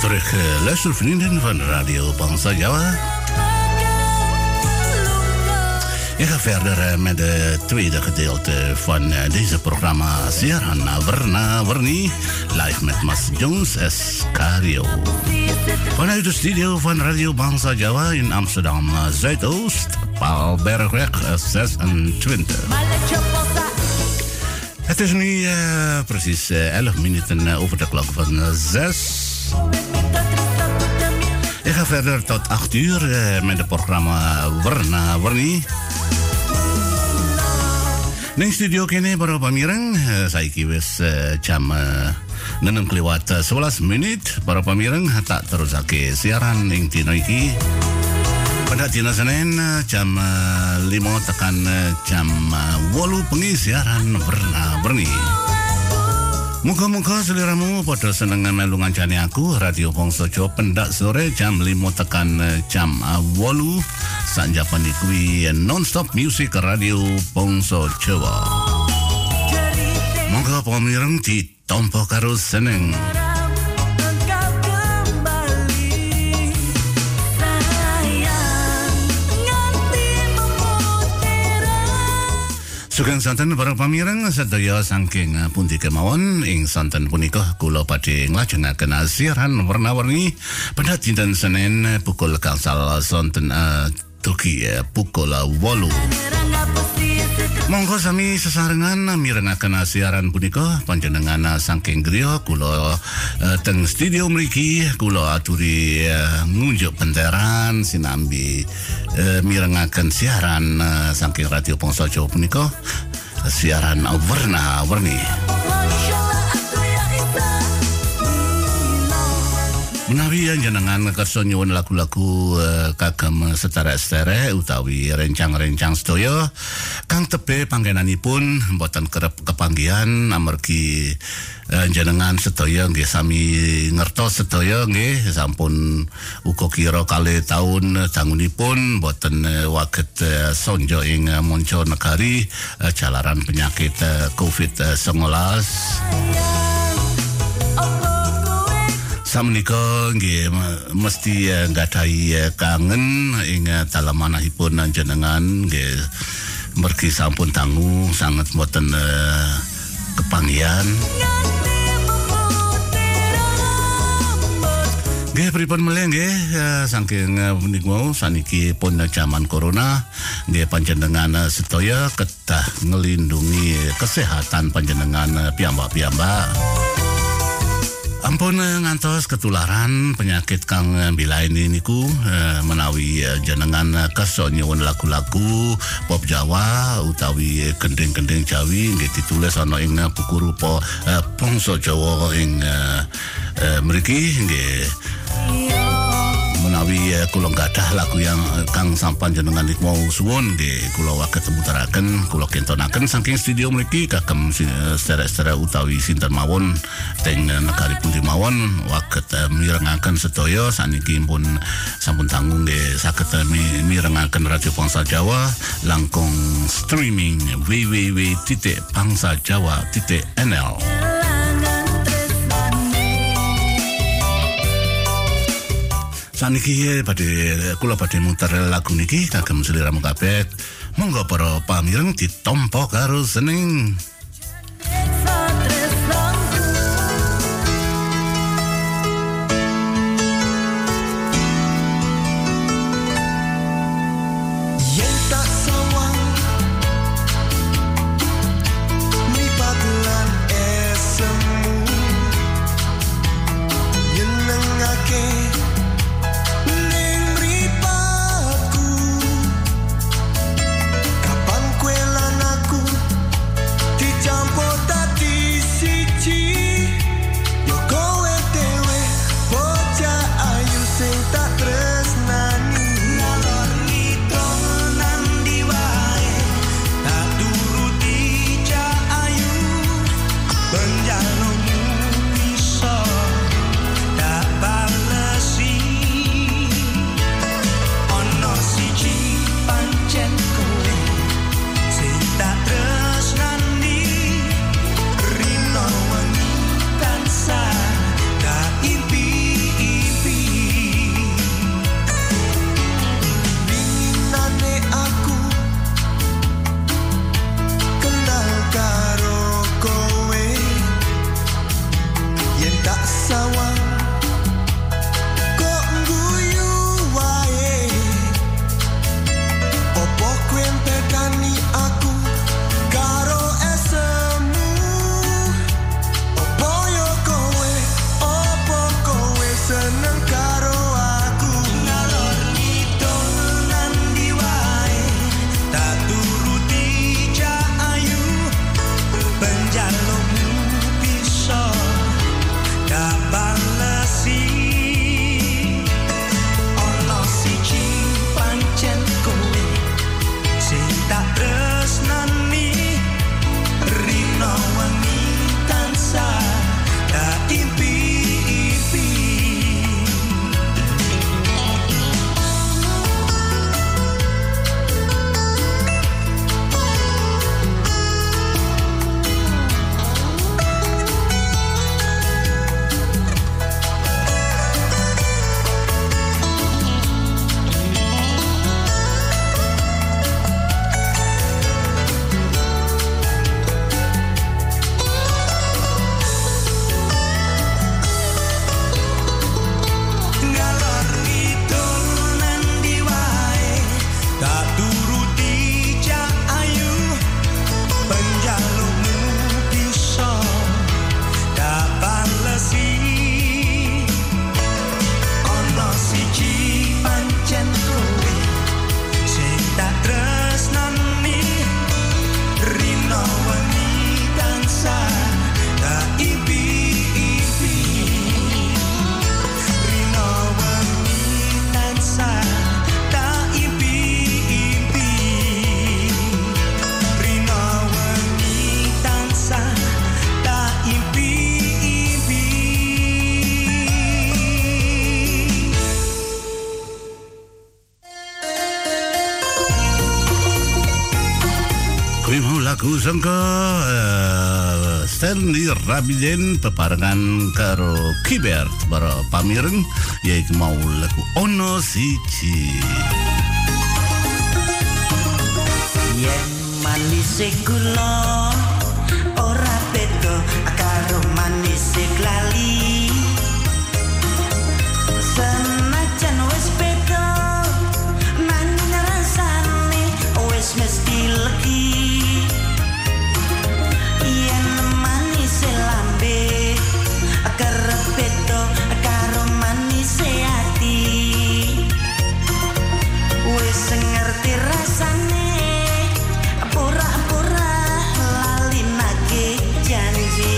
[SPEAKER 2] terug uh, luistervrienden van Radio Bangsa Jawa. Ik ga verder uh, met het tweede gedeelte van uh, deze programma Siaran Warna Warni live met Mas Jones Escario. Vanuit de studio van Radio Bangsa Jawa in Amsterdam uh, Zuidoost, Paalbergweg uh, zesentwintig. Het is nu uh, precies uh, elf minuten uh, over de klok van uh, zes. Ik ga verder tot acht uur uh, met het programma Warna Warni. Neng studio kini baru pamireng, uh, saiki wis uh, jam uh, enam lewat uh, sebelas menit baru pamireng tak terusake siaran ing dina iki. Pada dina Senin jam uh, lima tekan uh, jam uh, wolu bengi siaran Warna-Warni. Muga-muga seliramu pada seneng melu ngancani aku Radio Bangsa Jawa pendak sore jam lima tekan uh, jam uh, wolu sanjapan kuwi uh, non-stop music Radio Bangsa Jawa. Moga pamireng ditampa karo seneng. Sugeng santen para pamireng sedaya saking pundi kemawon ing santen punika kula badhe nglajengaken siaran Warna-Warni pada dinten Senin pukul gangsal sonten uh, dugi uh, pukul wolu. Monggo sami sesarengan mirengaken siaran punika panjenengan saking griya kula uh, teng studio mriki kula aturi uh, ngunjuk benteran sinambi uh, mirengaken siaran uh, saking Radio Bangsa Jawa punika siaran Warna-Warni. Menawi jenengan kersa nyuwun lagu-lagu uh, kagem setere-setere utawi rencang-rencang sedaya kang tebih panggenanipun mboten kerep kepanggihan amargi uh, jenengan sedaya nggih sami ngertos sedaya nggih sampun uga kira kalih taun dangunipun mboten uh, waget uh, sonjo ing uh, monco negari uh, jalaran penyakit uh, covid nineteen. Samenika nggih mesti uh, nggadahi uh, kangen ing uh, dalamanahipun jenengan nggih mergi sampun dangu sangat mboten uh, kepanggihan. Nggih pripun melih nggih uh, saking uh, menika saniki pun uh, zaman corona nggih panjenengan uh, sedaya kedah ngelindungi kesehatan panjenengan uh, piyambak-piyambak. Ampun ngantos ketularan penyakit kang bilaini niku eh, menawi eh, jenengan kersa nyuwun lagu-lagu pop Jawa utawi gending-gending Jawi nggih ditulis ana ing buku rupa eh, Bangsa Jawa ing eh, eh, mriki nggih menawi eh, kula gadah lagu yang eh, kang sampan jenengan niku mau suwun nggih kula waget muteraken kula kentonaken saking studio mriki kagem uh, setere-setere utawi sinten mawon teng uh, negari pundi mawon waget uh, mirengaken sedaya saniki pun sampun tanggung nggih saged uh, mirengaken Radio Bangsa Jawa langkung streaming w w w titik bangsa jawa titik n l. Saniki badhe kula badhe muter lagu niki kagem sliramu kabeh. Monggo para pamireng ditampa karo seneng.
[SPEAKER 7] Kapan kue lan aku
[SPEAKER 2] Aku sangka uh, Stanley Rabiden peparengan karo Kibert para pamireng yaitu mau lagu Ono Siji.
[SPEAKER 7] Yen manise kula ora beda karo manise glali. Senajan wis beda nanging rasane wis mesti legi. Yen manise lambe kerep beda karo manise ati. Wis ngerti rasane pura-pura lali nagih janji.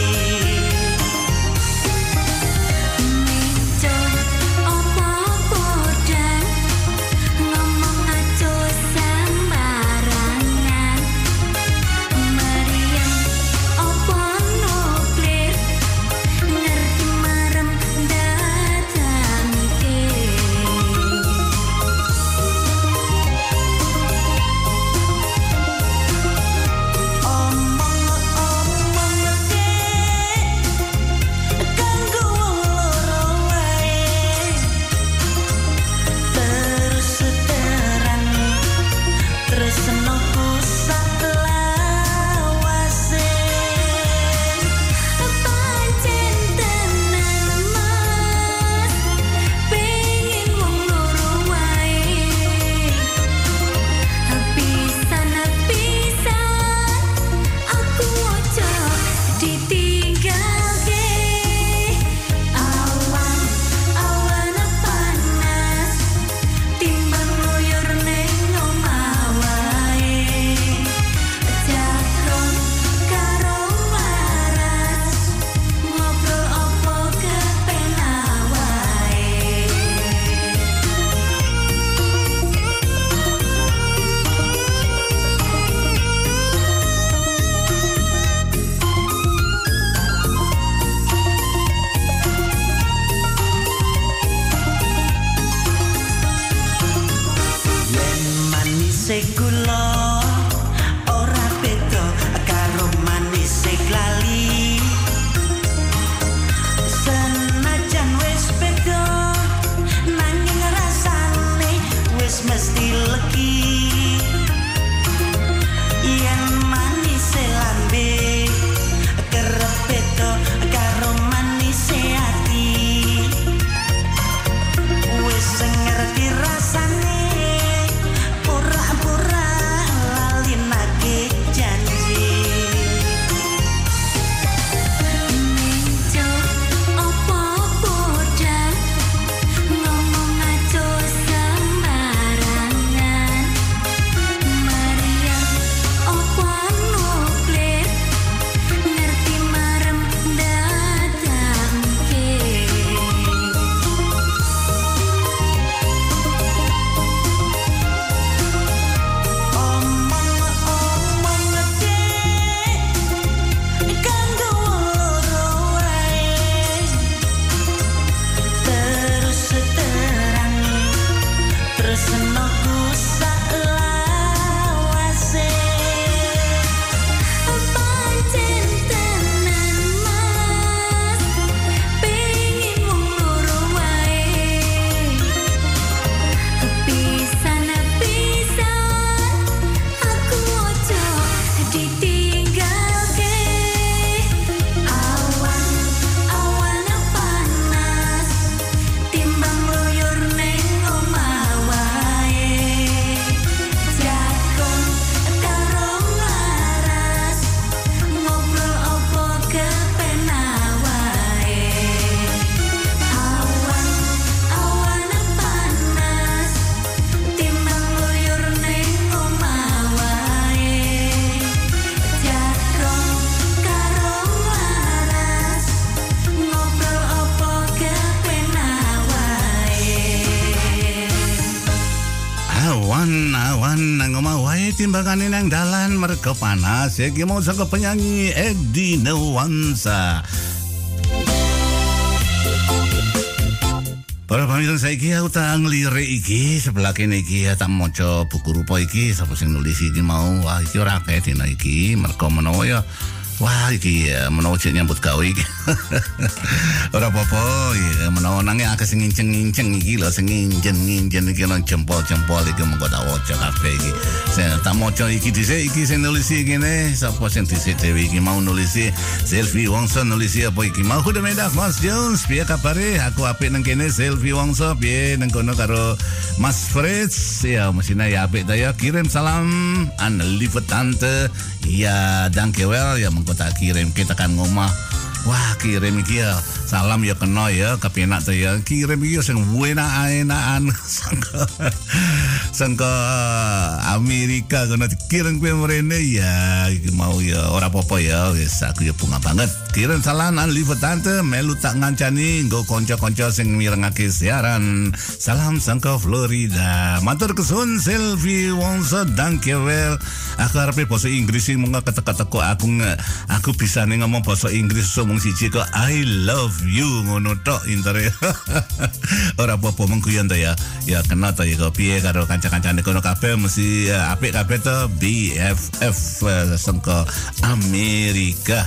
[SPEAKER 2] Timbangan nang dalan mereka panas ya mau saka penyanyi Edi Nuansa. Para pamirsa saiki aku tak nglirik iki sebelah kene iki tak maca buku rupa iki sapa sing nulis iki mau wah iki ora akeh dina iki mergo menawa ya wah iki menawa cek nyambut gawe iki ora apa-apa ya menawa nanging akeh sing nginceng-nginceng iki lho sing nginjen-nginjen iki nang jempol-jempol iki mengko tak waca kabeh iki sing tak maca iki dhisik iki sing nulis iki kene sapa sing dhisik dhewe iki mau nulis Selvi Wongso nulis apa iki mau Goedemiddag Mas Jones piye kabare aku apik nang kene Selvi Wongso piye nang kono karo Mas Frits ya mesina ya apik ta ya kirim salam an lieve tante ya dankjewel ya mengko tak kirim kita kan ngomah wah kirim iki ya salam ya kena ya kepenak ta ya kirim iki sing enak-enakan sangka sangka Amerika kono dikirim kowe mrene ya iki mau ya ora apa-apa ya wis aku ya bunga banget kirim salam an lieve tante melu tak ngancani nggo kanca-kanca sing mirengake siaran salam sangka Florida matur kesuwun Selvi Wongso dankjewel aku arep basa Inggris sing mung kata-kataku aku aku bisa nih ngomong bahasa Inggris ngomong siji kok I love you ngono tok intare ora apa-apa mengkuyon ta ya ya kena ta ya piye karo kanca-kancane kono kabeh mesti uh, apik kabeh to B F F uh, sangka Amerika.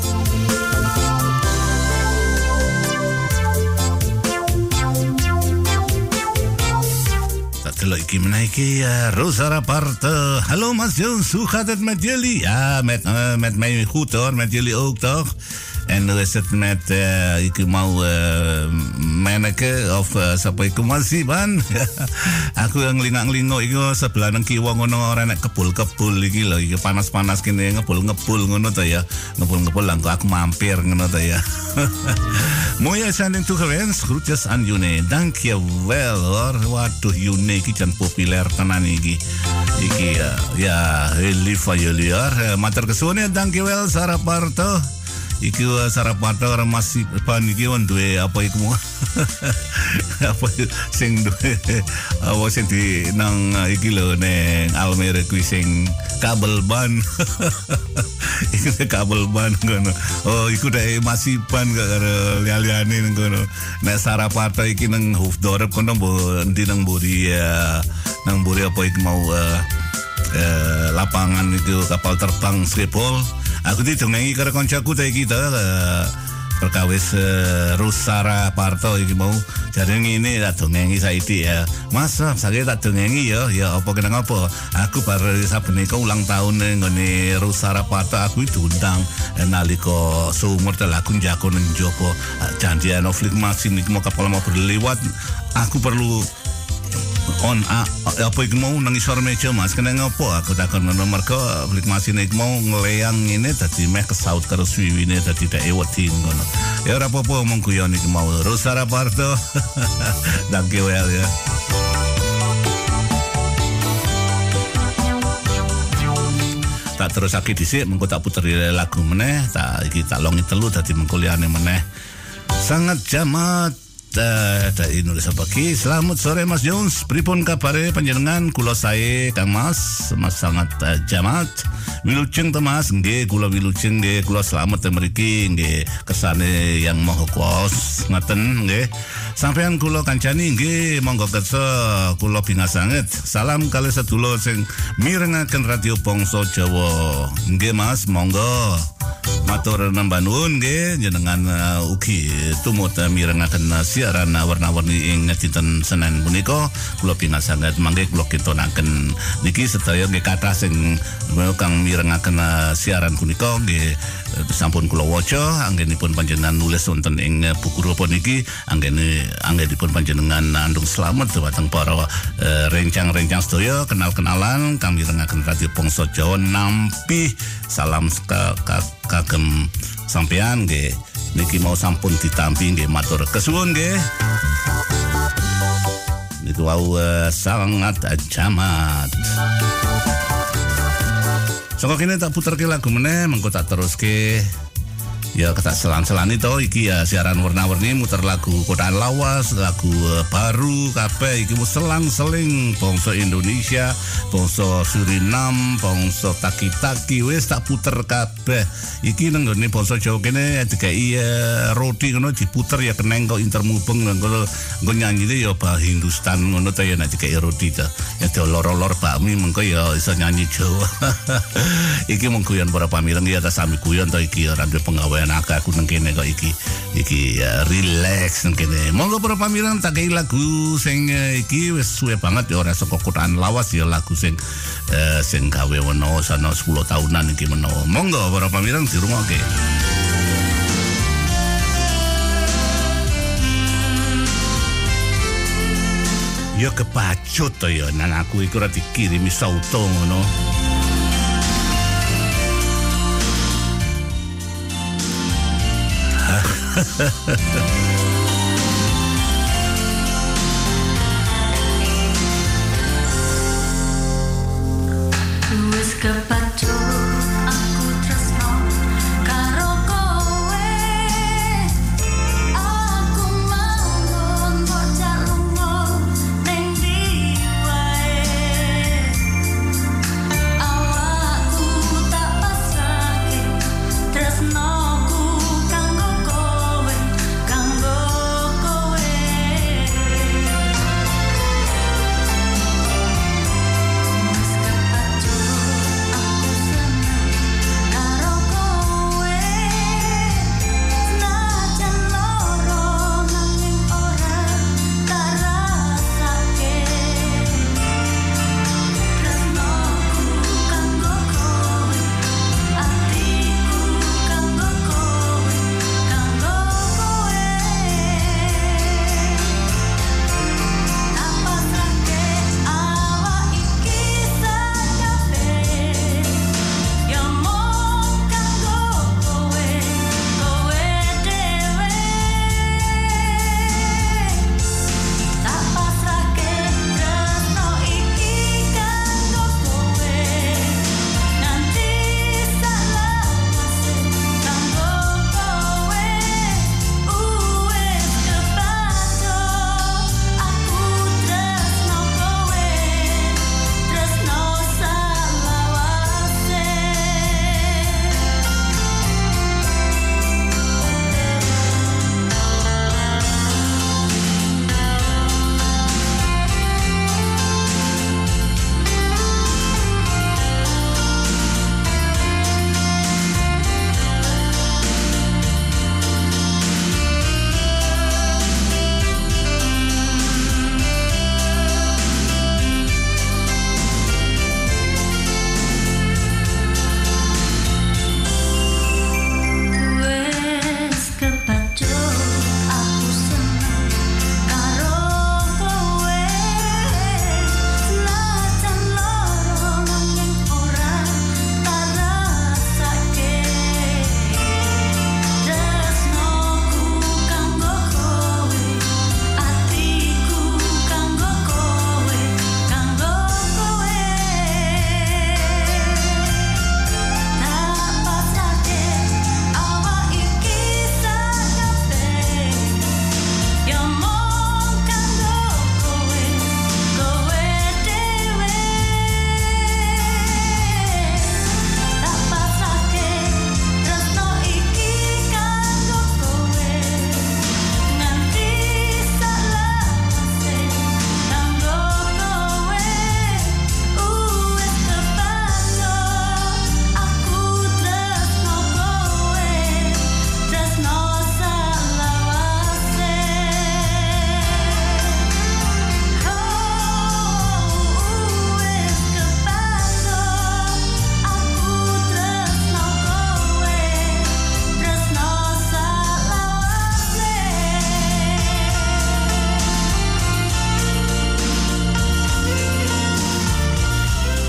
[SPEAKER 2] Delok iki menaiki uh, Rosa Raparte. Hallo Mas Jones, hoe gaat het met jullie? Ja, met, uh, met mij goed hoor, met jullie ook toch? En hoe is het met uh, ik mau uh, meneke of uh, sapa iku masih ban? Aku yang lingak-lingok iku sebelah nang kiwa ngono ora nek kebul-kebul iki lho, iki panas-panas kene ngebul-ngebul ngono ta ya. Ngebul-ngebul lang aku mampir ngono ta ya. Mooie uitzending toegewenst. Groetjes aan June. Dankjewel hoor. Waduh June iki jan populer tenan iki. Iki uh, ya heel lief van jullie hoor. Matur kesuwun ya dankjewel Sarah Parto. Iki Sarapato orang masih pan iki on duwe apa iku mau apa sing duwe apa sing di nang iki lho neng Almere kuwi sing kabel ban iku kabel ban ngono oh iku dek masih pan karo liane ngono nek Sarapato iki nang Hoofddorp kono ndi nang Buri nang Buri apa iku mau uh, uh, lapangan itu kapal terbang Schiphol. Aku didengengi karo koncoku ta iki ta uh, perkawis uh, Rusara Parto iki mau jare ngene tak dongengi saiki ya. Mas saya tak dongengi ya ya apa kena ngopo. Aku bar sabenika ulang tahun nggone Rusara Parto aku diundang nalika sumur tel aku njako nang njaba janjian flikmasi niku mau kapal mau berlewat aku perlu on a, apa iku mau nang isor meja Mas kena ngopo aku takon ngono mergo flikmasi niku mau ngleyang ngene dadi meh kesaut karo swiwine dadi dek wedi ngono ya ora apa-apa omong guyon iki mau Rosara Parto dankjewel ya tak terus aki dhisik mengko tak puter lagu meneh tak iki tak longi telu dadi mengkuliane meneh sangat jamat Uh, dari nulis pagi. Selamat sore Mas Jones. Pripun kabare panjenengan? Kula sae Kang Mas, Mas sangat uh, jamat. Wilujeng to Mas, nggih kula wilujeng nggih kula slamet mriki nggih kersane yang Maha Kuwasa ngaten nggih. Sampeyan kula kancani nggih monggo kersa kula bingasanget. Salam kali sedulur sing mirengaken Radio Bangsa Jawa. Nggih Mas, monggo. Matur nambah nuwun nggih jenengan uh, ugi tumut uh, mirengaken uh, siaran uh, warna-warni ing dinten Senin punika kula pingasanget mangke kula kintunaken niki sedaya nggih kathah sing kang mirengaken uh, siaran punika nggih uh, sampun kula waca anggenipun panjenengan nulis wonten ing uh, buku rupa niki anggene anggenipun panjenengan andung slamet dhateng para uh, rencang-rencang sedaya kenal-kenalan kang mirengaken Radio Bangsa Jawa nampi salam ka, ka kagem sampean nggih niki mau sampun ditampi nggih matur kesuwun nggih niku wau uh, sangat jamat saka kene tak puterke lagu meneh mengko tak teruske Ya kata selan-selan itu iki ya siaran warna-warni muter lagu Kotaan Lawas, lagu uh, baru kabeh iki mu selang-seling bangsa Indonesia, bangsa Suriname, bangsa Taki-Taki wis tak puter kabeh. Iki nang ngene bangsa Jawa kene dikai uh, roti ngono diputer ya keneng kok intermubeng ngono nggo nyanyi ya bah Hindustan ngono ta ya nek dikai roti ta. Ya lor-lor bakmi mengko ya iso nyanyi Jawa. Iki mung guyon para pamireng ya ta sami guyon to iki ora duwe pengawean akeh aku nang kene kok iki iki uh, relax nang kene. Monggo para pamireng tak kei lagu sing uh, iki wis suwe banget ya ora saka Kotaan Lawas ya lagu sing uh, sing gawe wono sana sepuluh tahunan iki menawa. Monggo para pamireng dirungokke. Ya kepacut to ya nang aku iku ora dikirimi sauto ngono.
[SPEAKER 8] Wis kepacut aku tresno karo kowe. Aku manggon bocah lunga ning ndi wae. Awakku tak pasake tresnoku kanggo kowe, kanggo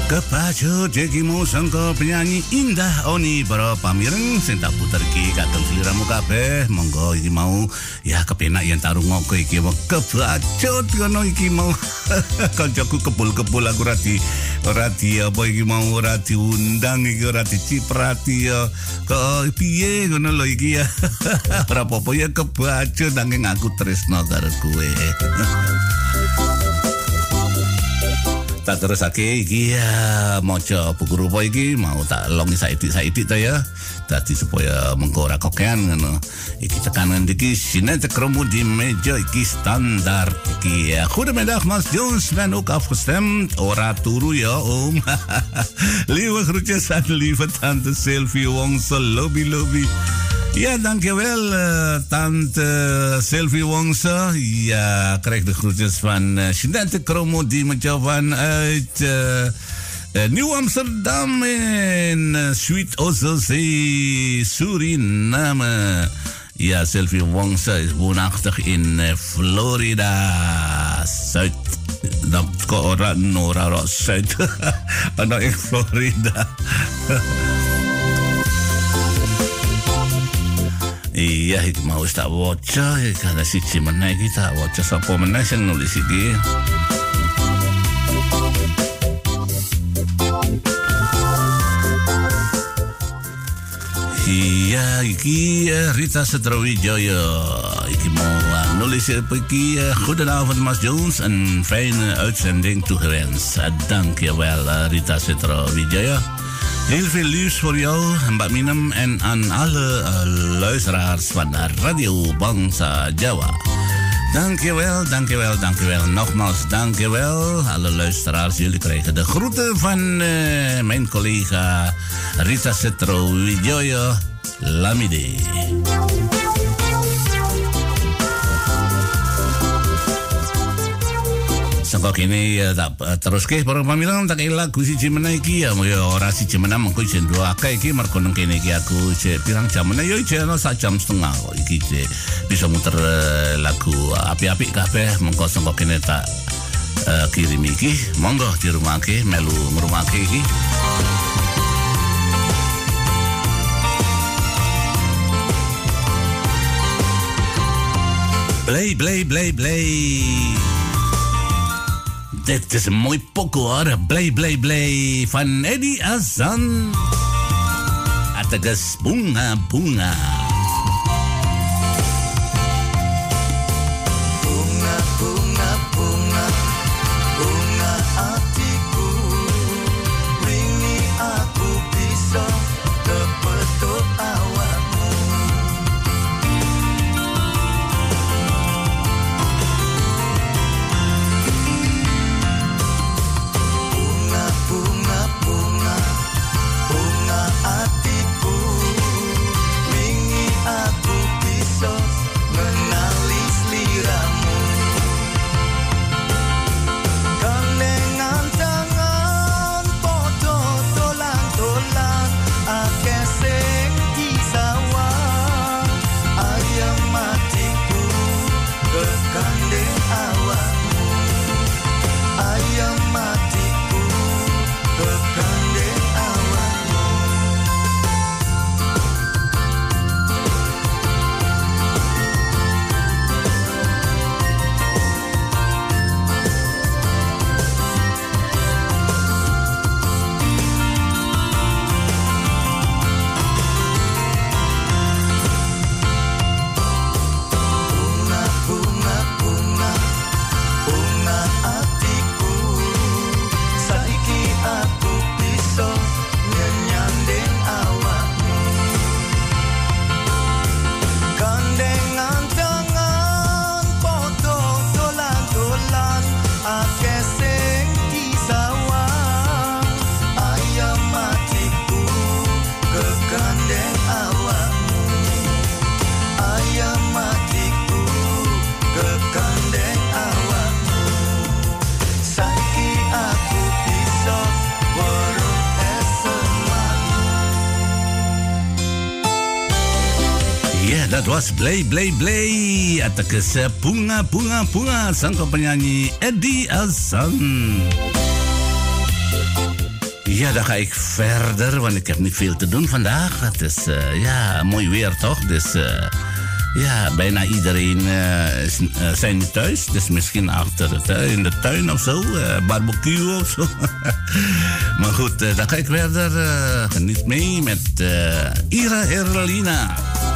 [SPEAKER 2] Kepacut iki mau sangka penyanyi Indah Oni para pamireng sing tak puter iki kagem sliramu kabeh. Monggo iki mau ya kepenak yen tarungoko iki mau kepacut ngono iki mau. Kancaku kepul-kepul aku ora di ora di apa iki mau ora diundang iki ora diciprati ya. Kok piye ngono lho iki ya. Ora apa-apa ya kepacut nanging aku tresno karo kowe. Tak terus aki iki ya maca buku rupa iki mau tak longi saidik-saidik ta ya. Dadi supaya mengko ora kokean ngono. Iki tekanan iki sinete kromo di meja iki standaard iki. Ja, goedemiddag Mas Jones, ben ook afgestemd. Ora turu ya om. Lieve groetjes aan lieve tante Sylvie Wongse, lobby lobby. Ja, dankjewel uh, tante Sylvie Wongse. Ja, krijg de groetjes van uh, Jeanette Kromo die met jou van uit uh, uh, Nieuw-Amsterdam in uh, Sweet Osselsee, Suriname. Ja, Sylvie Wongse is woonachtig in uh, Florida, Zuid. Dan ora ora Zuid. Nou in Florida. Iya, iki mau tak waca, iki ada siji meneh iki tak waca sapa meneh sing nulis iki. Iya, iki Rita Setrowijaya. Iki mau nulis iki. Goedenavond Mas Jones, een fijne uitzending toegewenst. Dank je wel Rita Setrowijaya. Heel veel liefs voor jou, Mbak Minem, en aan alle uh, luisteraars van Radio Bangsa Jawa. Dankjewel, dankjewel, dankjewel. Nogmaals, dankjewel. Alle luisteraars, jullie krijgen de groeten van uh, mijn collega Rita Setrowijaya Lamide. Sangka kini ya tak terus ke para pamirang tak lagu siji meneh iki ya ora siji meneh mengko jen do akeh iki mergo nang kene iki aku cek pirang jam meneh yo jen sak jam setengah kok iki cek bisa muter lagu apik-apik kabeh mengko sangka kene tak uh, kirim iki monggo dirumahke melu ngrumahke iki. Play play play play. Dit is een mooi pokoe hoor. Blij, blij, blij. Van Eddie Azan. Atagas bunga, bunga.
[SPEAKER 9] Bunga, bunga, bunga. Bunga hatiku. Wingi aku bisa kepetuk awakmu. Bunga, bunga, bunga hatiku. Wingi aku bisa mengenali seliramu. Gandengan tangan podo dolan-dolan akeh sing disawang. Ayam hatiku kekandeng awakmu. Ayam hatiku kekandeng awakmu. Bunga, bunga, bunga, bunga hatiku. Saiki aku bisa nyanyandeng awakmu. Gandengan tangan podo dolan-dolan akeh sing disawang. Ayam hatiku kegandeng awakmu. Ayam hatiku kegandeng awakmu. Saiki aku bisa weruh esemamu.
[SPEAKER 2] Ya, dat was Blij, Blij, Blij. Atagas bunga, bunga, bunga. Sang penyanyi Eddie Azan. Ja, dan ga ik verder, want ik heb niet veel te doen vandaag. Het is uh, ja, mooi weer toch? Dus uh, ja, bijna iedereen uh, is, uh, zijn nu thuis. Dus misschien achter de tuin, in de tuin of zo. Uh, barbecue of zo. Maar goed, uh, dan ga ik verder. Uh, geniet mee met uh, Ira Herlina.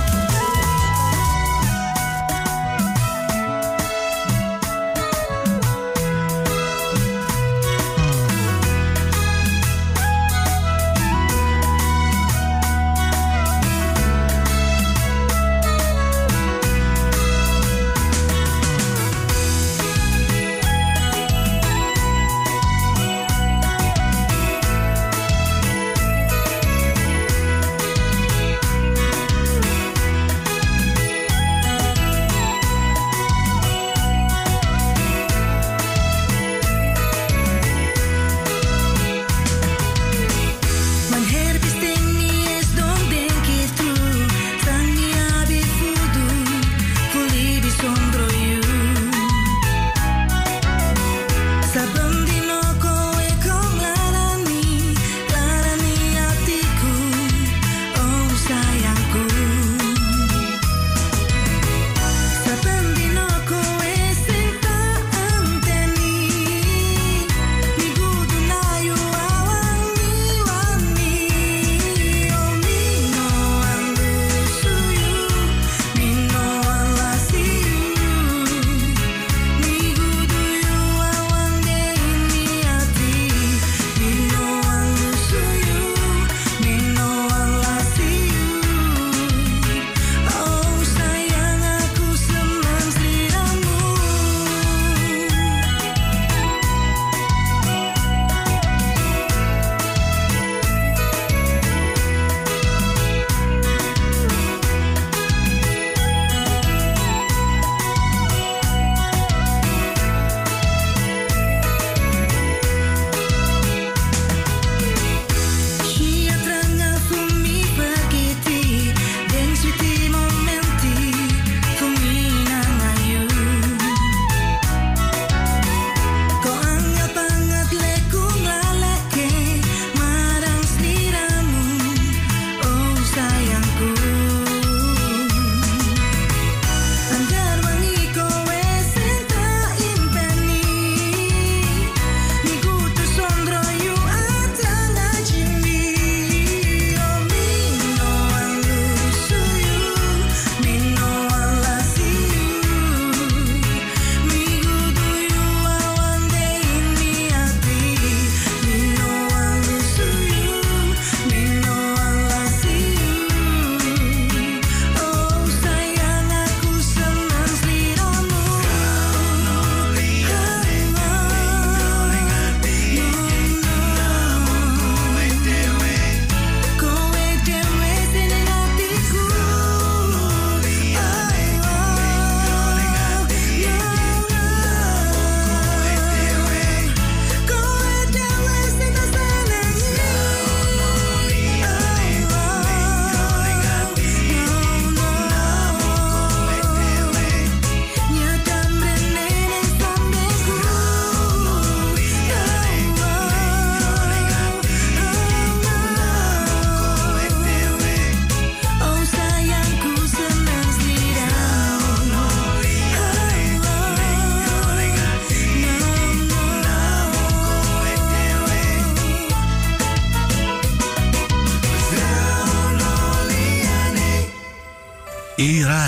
[SPEAKER 2] Ira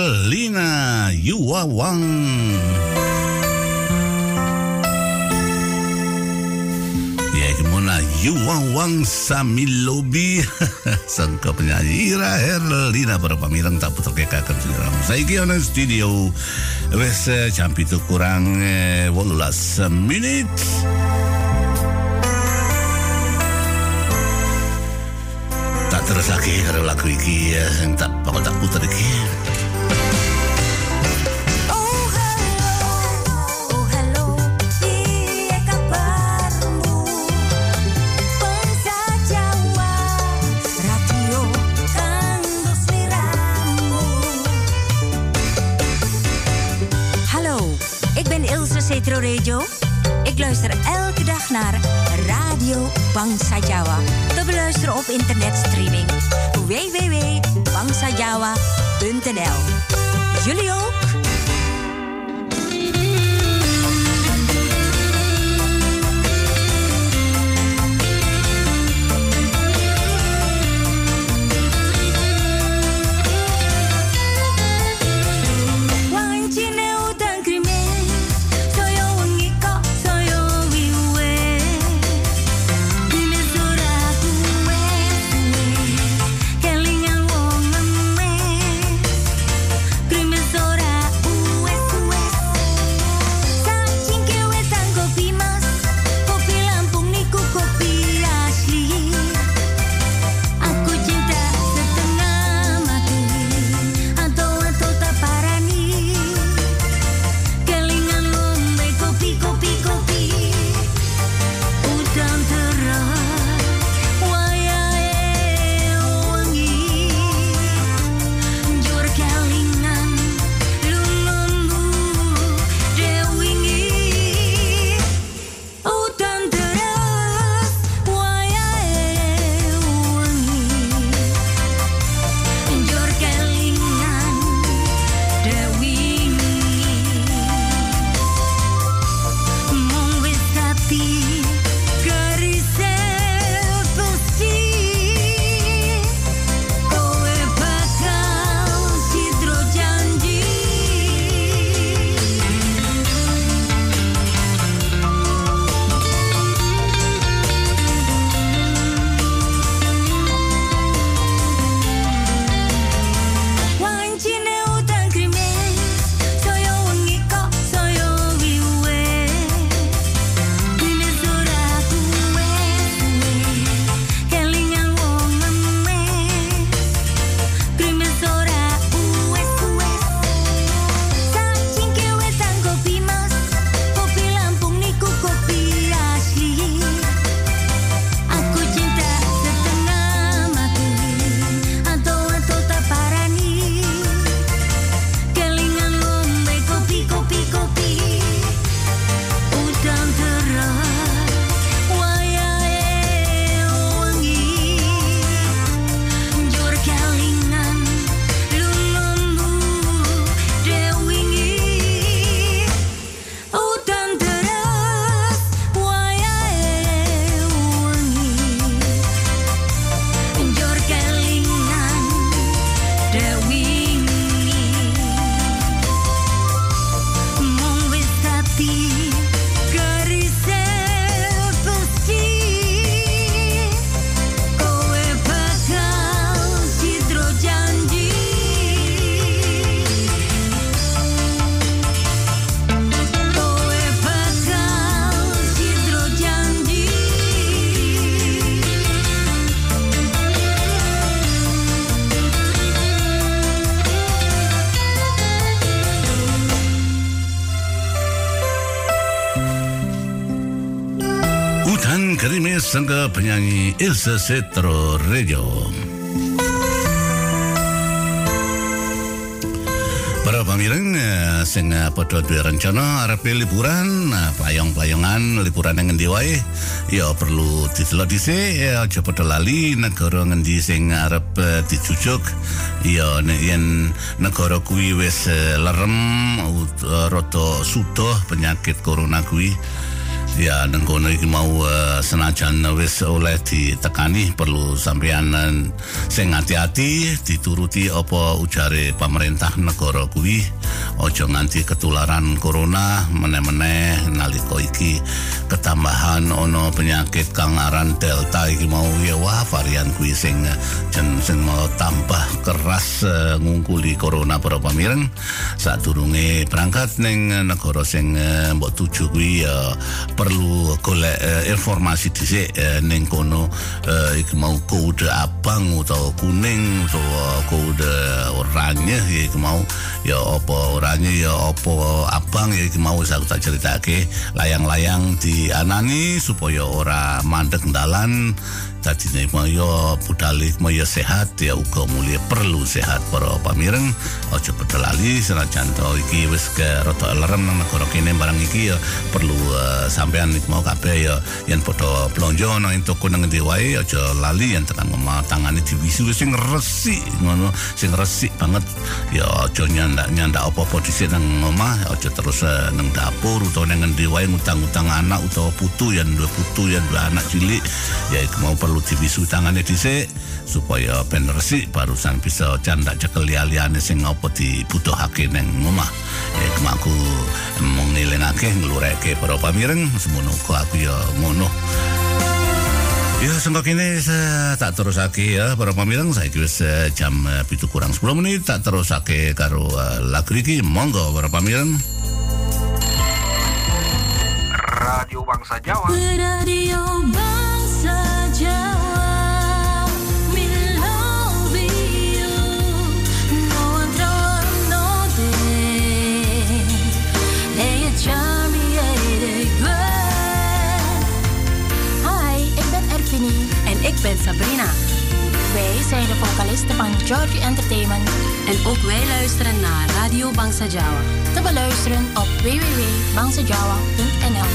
[SPEAKER 2] Herlina Yuwawang. Ya, gimana Yuwawang Samilobi. Sangka penyanyi Ira Herlina para pamirang tak putar kekakan sekarang. Saiki ana studio wes jam pitu kurang wolulas menit. Terus lagi karo lagu iki yang tak bakal tak putar iki.
[SPEAKER 8] Oh hello, oh hello, iya kabarmu? Bangsa Jawa, radio kanggo sliramu. Hallo, ik ben Ilse Cetrorejo. Ik luister elke dag naar Radio Bangsa Jawa. Te beluisteren op internetstreaming w w w punt bangsa jawa punt n l. Jullie ook?
[SPEAKER 2] Sangga penyanyi Ilse Setro Radio. Para pamireng sing padha duwe rencana arep liburan, playong-playongan liburan nang endi wae ya perlu didelok dhisik, aja padha lali negara ngendi sing arep dijujuk. Ya nek yen negara kuwi wis lerem rada sudah penyakit corona kuwi, ya nang kono iki mau uh, senajan wis oleh ditekani perlu sampeyan sing hati-hati dituruti apa ujare pemerintah negara kuwi, aja nganti ketularan corona meneh-meneh nalika iki ketambahan ono penyakit kang aran Delta iki mau ya wah varian kuwi sing jen sing mau tambah keras uh, ngungkuli corona para pamireng. Sadurunge berangkat ning negara sing uh, mbok tuju kuwi ya uh, perlu golek uh, informasi dhisik uh, ning kono uh, iki mau kode abang utawa kuning utawa kode oranye iki mau ya apa oranye ya apa abang ya iki mau aku tak ceritake layang-layang dianani supaya ora mandeg dalan. Tadine moyo budale moyo sehat ya uga mulia perlu sehat para pamireng, aja padha lali senajan to iki wis ke rada lerem nang negara kene barang iki ya perlu uh, sampai sampean iki mau kabeh ya yen padha blonjo nang toko nang endi wae aja lali yen tekan ngomah tangane diwisu sing resik ngono, sing resik banget ya aja nyandak nyandak apa-apa dhisik nang omah, aja terus uh, nang dapur utawa nang endi wae ngutang-utang anak utawa putu yen duwe putu yen duwe anak cilik ya iku mau perlu diwisu tangane dhisik supaya ben resik barusan bisa candak cekel liyane sing apa dibutuhake nang omah. Ya iku aku mung ngelingake nglureke para pamireng semono kok aku ya ngono. Ya sengko kene tak terusake ya para pamireng saiki wis jam tujuh kurang sepuluh menit tak terusake karo uh, lagu iki monggo para pamireng.
[SPEAKER 1] Radio Bangsa Jawa.
[SPEAKER 5] Radio Bangsa Jawa.
[SPEAKER 6] En ik ben Sabrina. Wij zijn de vocalisten van Georgie Entertainment. En ook wij luisteren naar Radio Bangsa Jawa. Te beluisteren op w w w punt bangsa jawa punt n l.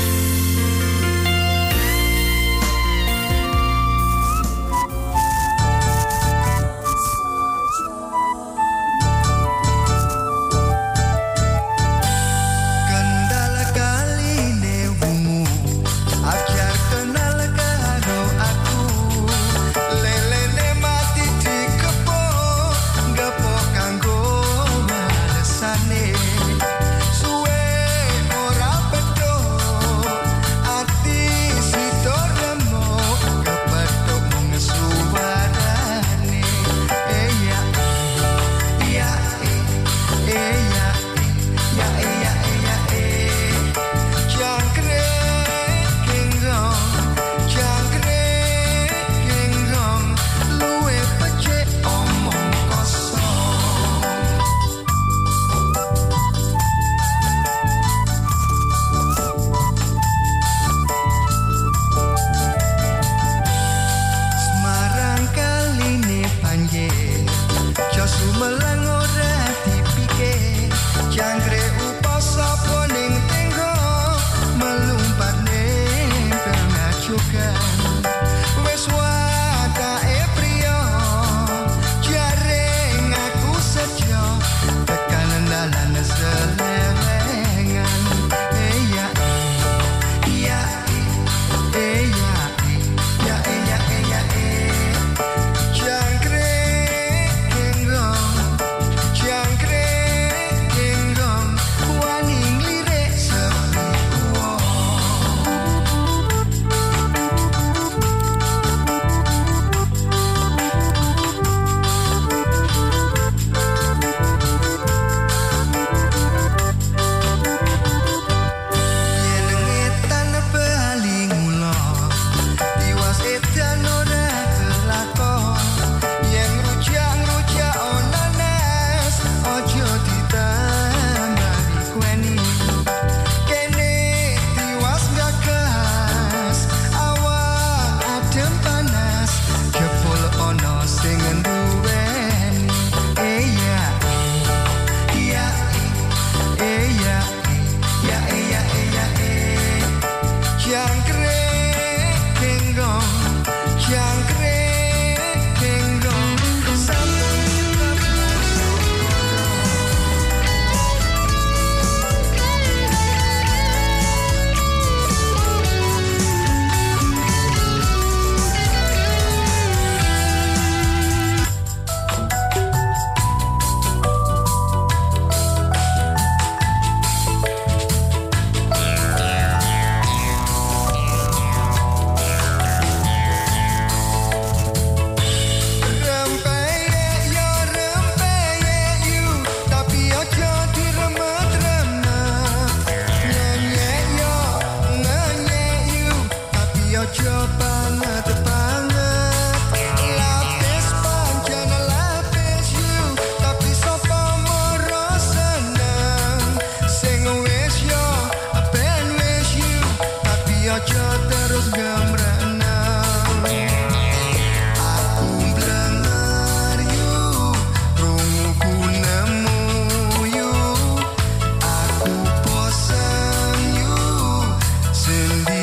[SPEAKER 9] Cindy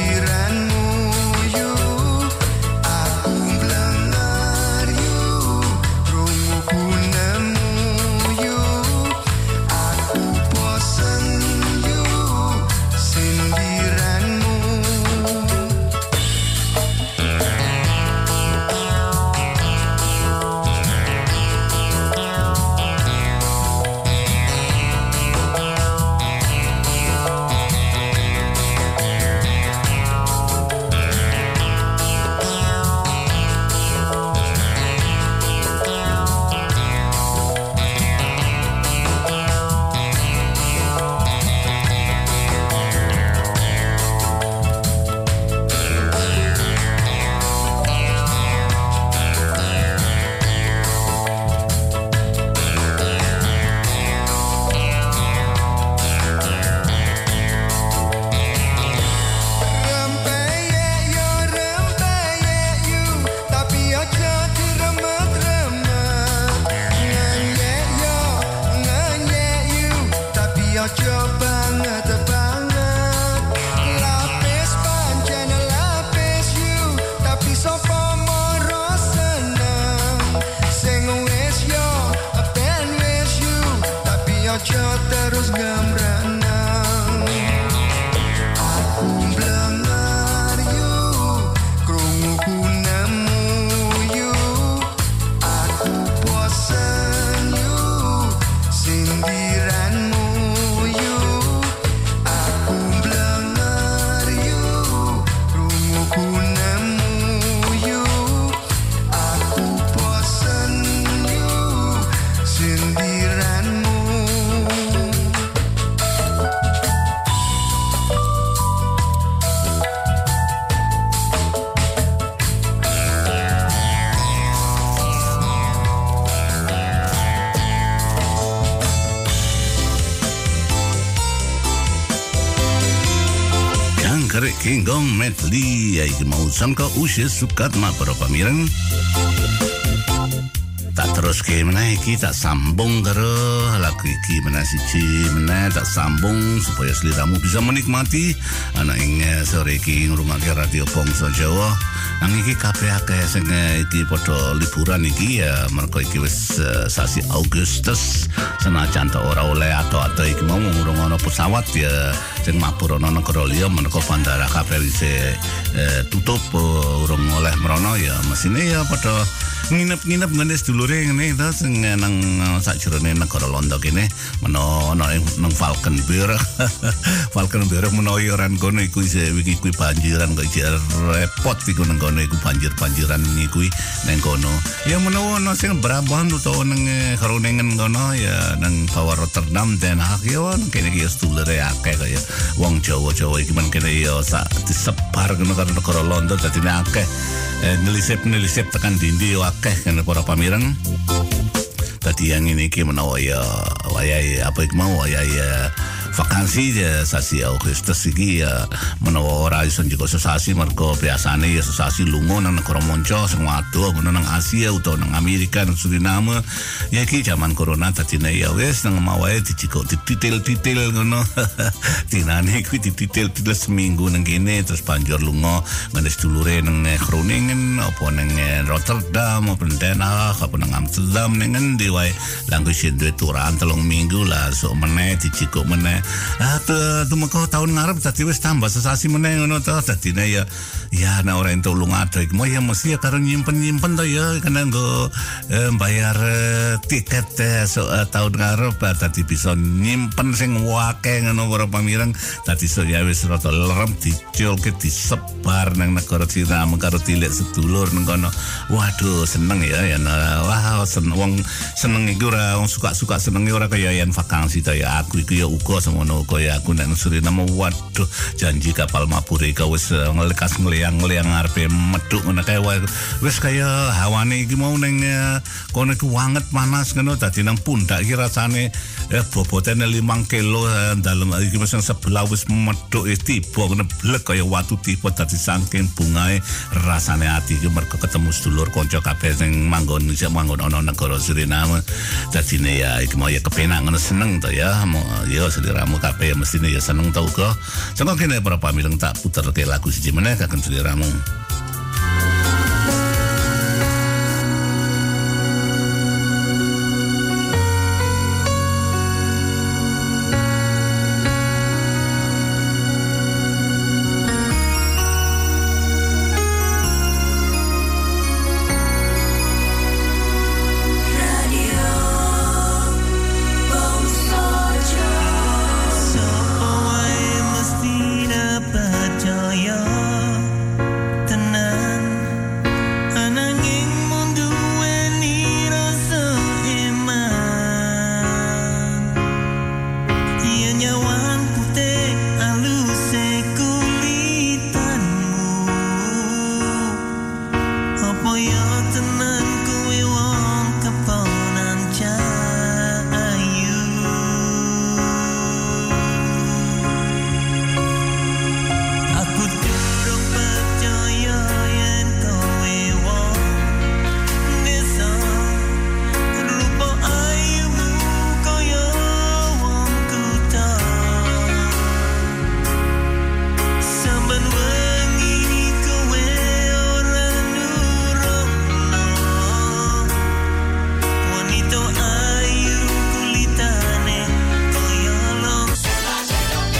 [SPEAKER 2] Kinggong medley ya iki mau sangka usia sukat ma para pamireng. Tak terus ke meneh iki tak sambung karo lagu iki meneh siji meneh tak sambung supaya seliramu bisa menikmati ana ing sore iki ngrungokke radio Bangsa Jawa. Nang iki kabeh akeh sing iki padha liburan iki ya mergo iki wis uh, sasi Agustus senajan ta ora oleh atau-atau iki mau ngrungono pesawat ya sing mabur ana negara liya mergo bandara kabeh wis uh, tutup uh, urung oleh merono ya mesine ya padha nginep-nginep ngene sedulure ngene ta sing nang sakjroning negara Londo kene meno ana nang Valkenburg. Valkenburg meno ora ngono iku isih iki kuwi banjiran kok iki repot iku nang kono iku banjir-banjiran iku nang kono. Ya meno ana sing Brabant utawa nang Groningen kono ya nang bawah Rotterdam Den Haag ya kene iki sedulure akeh kaya wong Jawa-Jawa iki men kene ya sak disebar ngono karo negara Londo dadi akeh nelisip-nelisip tekan dindi akeh kene para pamireng. Tadi yang ini ki menawa ya wayahe apa iku mau wayahe vakansi ya sasi Agustus iki ya menawa ora iso njiko sesasi mergo biasane ya sesasi lunga nang negara manca sing waduh ngono nang Asia utawa nang Amerika nang Suriname ya iki jaman corona dadine ya wis nang mawae dijiko detail-detail ngono dinane kuwi detail-detail seminggu nang kene terus banjur lunga ngene sedulure nang Groningen apa nang Rotterdam apa Den Haag apa nang Amsterdam nang endi wae langkung duwe turan telung minggu lah sok meneh dijiko meneh. Ah, tumeka tahun ngarep dadi wis tambah sesasi meneh ngono to. Dadine ya ya nek ora entuk lunga ada iku ya mesti ya karo nyimpen-nyimpen to ya kena nggo eh, bayar eh, tiket eh, so, eh, tahun ngarep dadi bisa nyimpen sing akeh ngono para pamireng. Dadi so ya wis rada lerem diculke disebar nang negara Cina karo tilik sedulur nang kono. Waduh seneng ya ya wah seneng wong seneng iku ora wong suka-suka senenge ora kaya yen vakansi to ya aku iku ya uga semono kaya aku nang Suriname waduh janji kapal mabur iki wis ngelekas ngleang-ngleang ngarepe medhuk ngono kae wis kaya hawane iki mau ning kono iku wanget panas ngono dadi nang pundak iki rasane eh bobotene limang kilo dalem iki wis sebelah wis medhuk wis tiba ngono blek kaya watu tiba dadi saking bungae rasane ati iki mergo ketemu sedulur kanca kabeh sing manggon isih manggon ana negara Suriname dadine ya iki mau ya kepenak ngono seneng to ya ya seliramu kabeh mestine ya seneng to uga. Sangko kene para pamireng tak puterke lagu siji meneh kagem seliramu.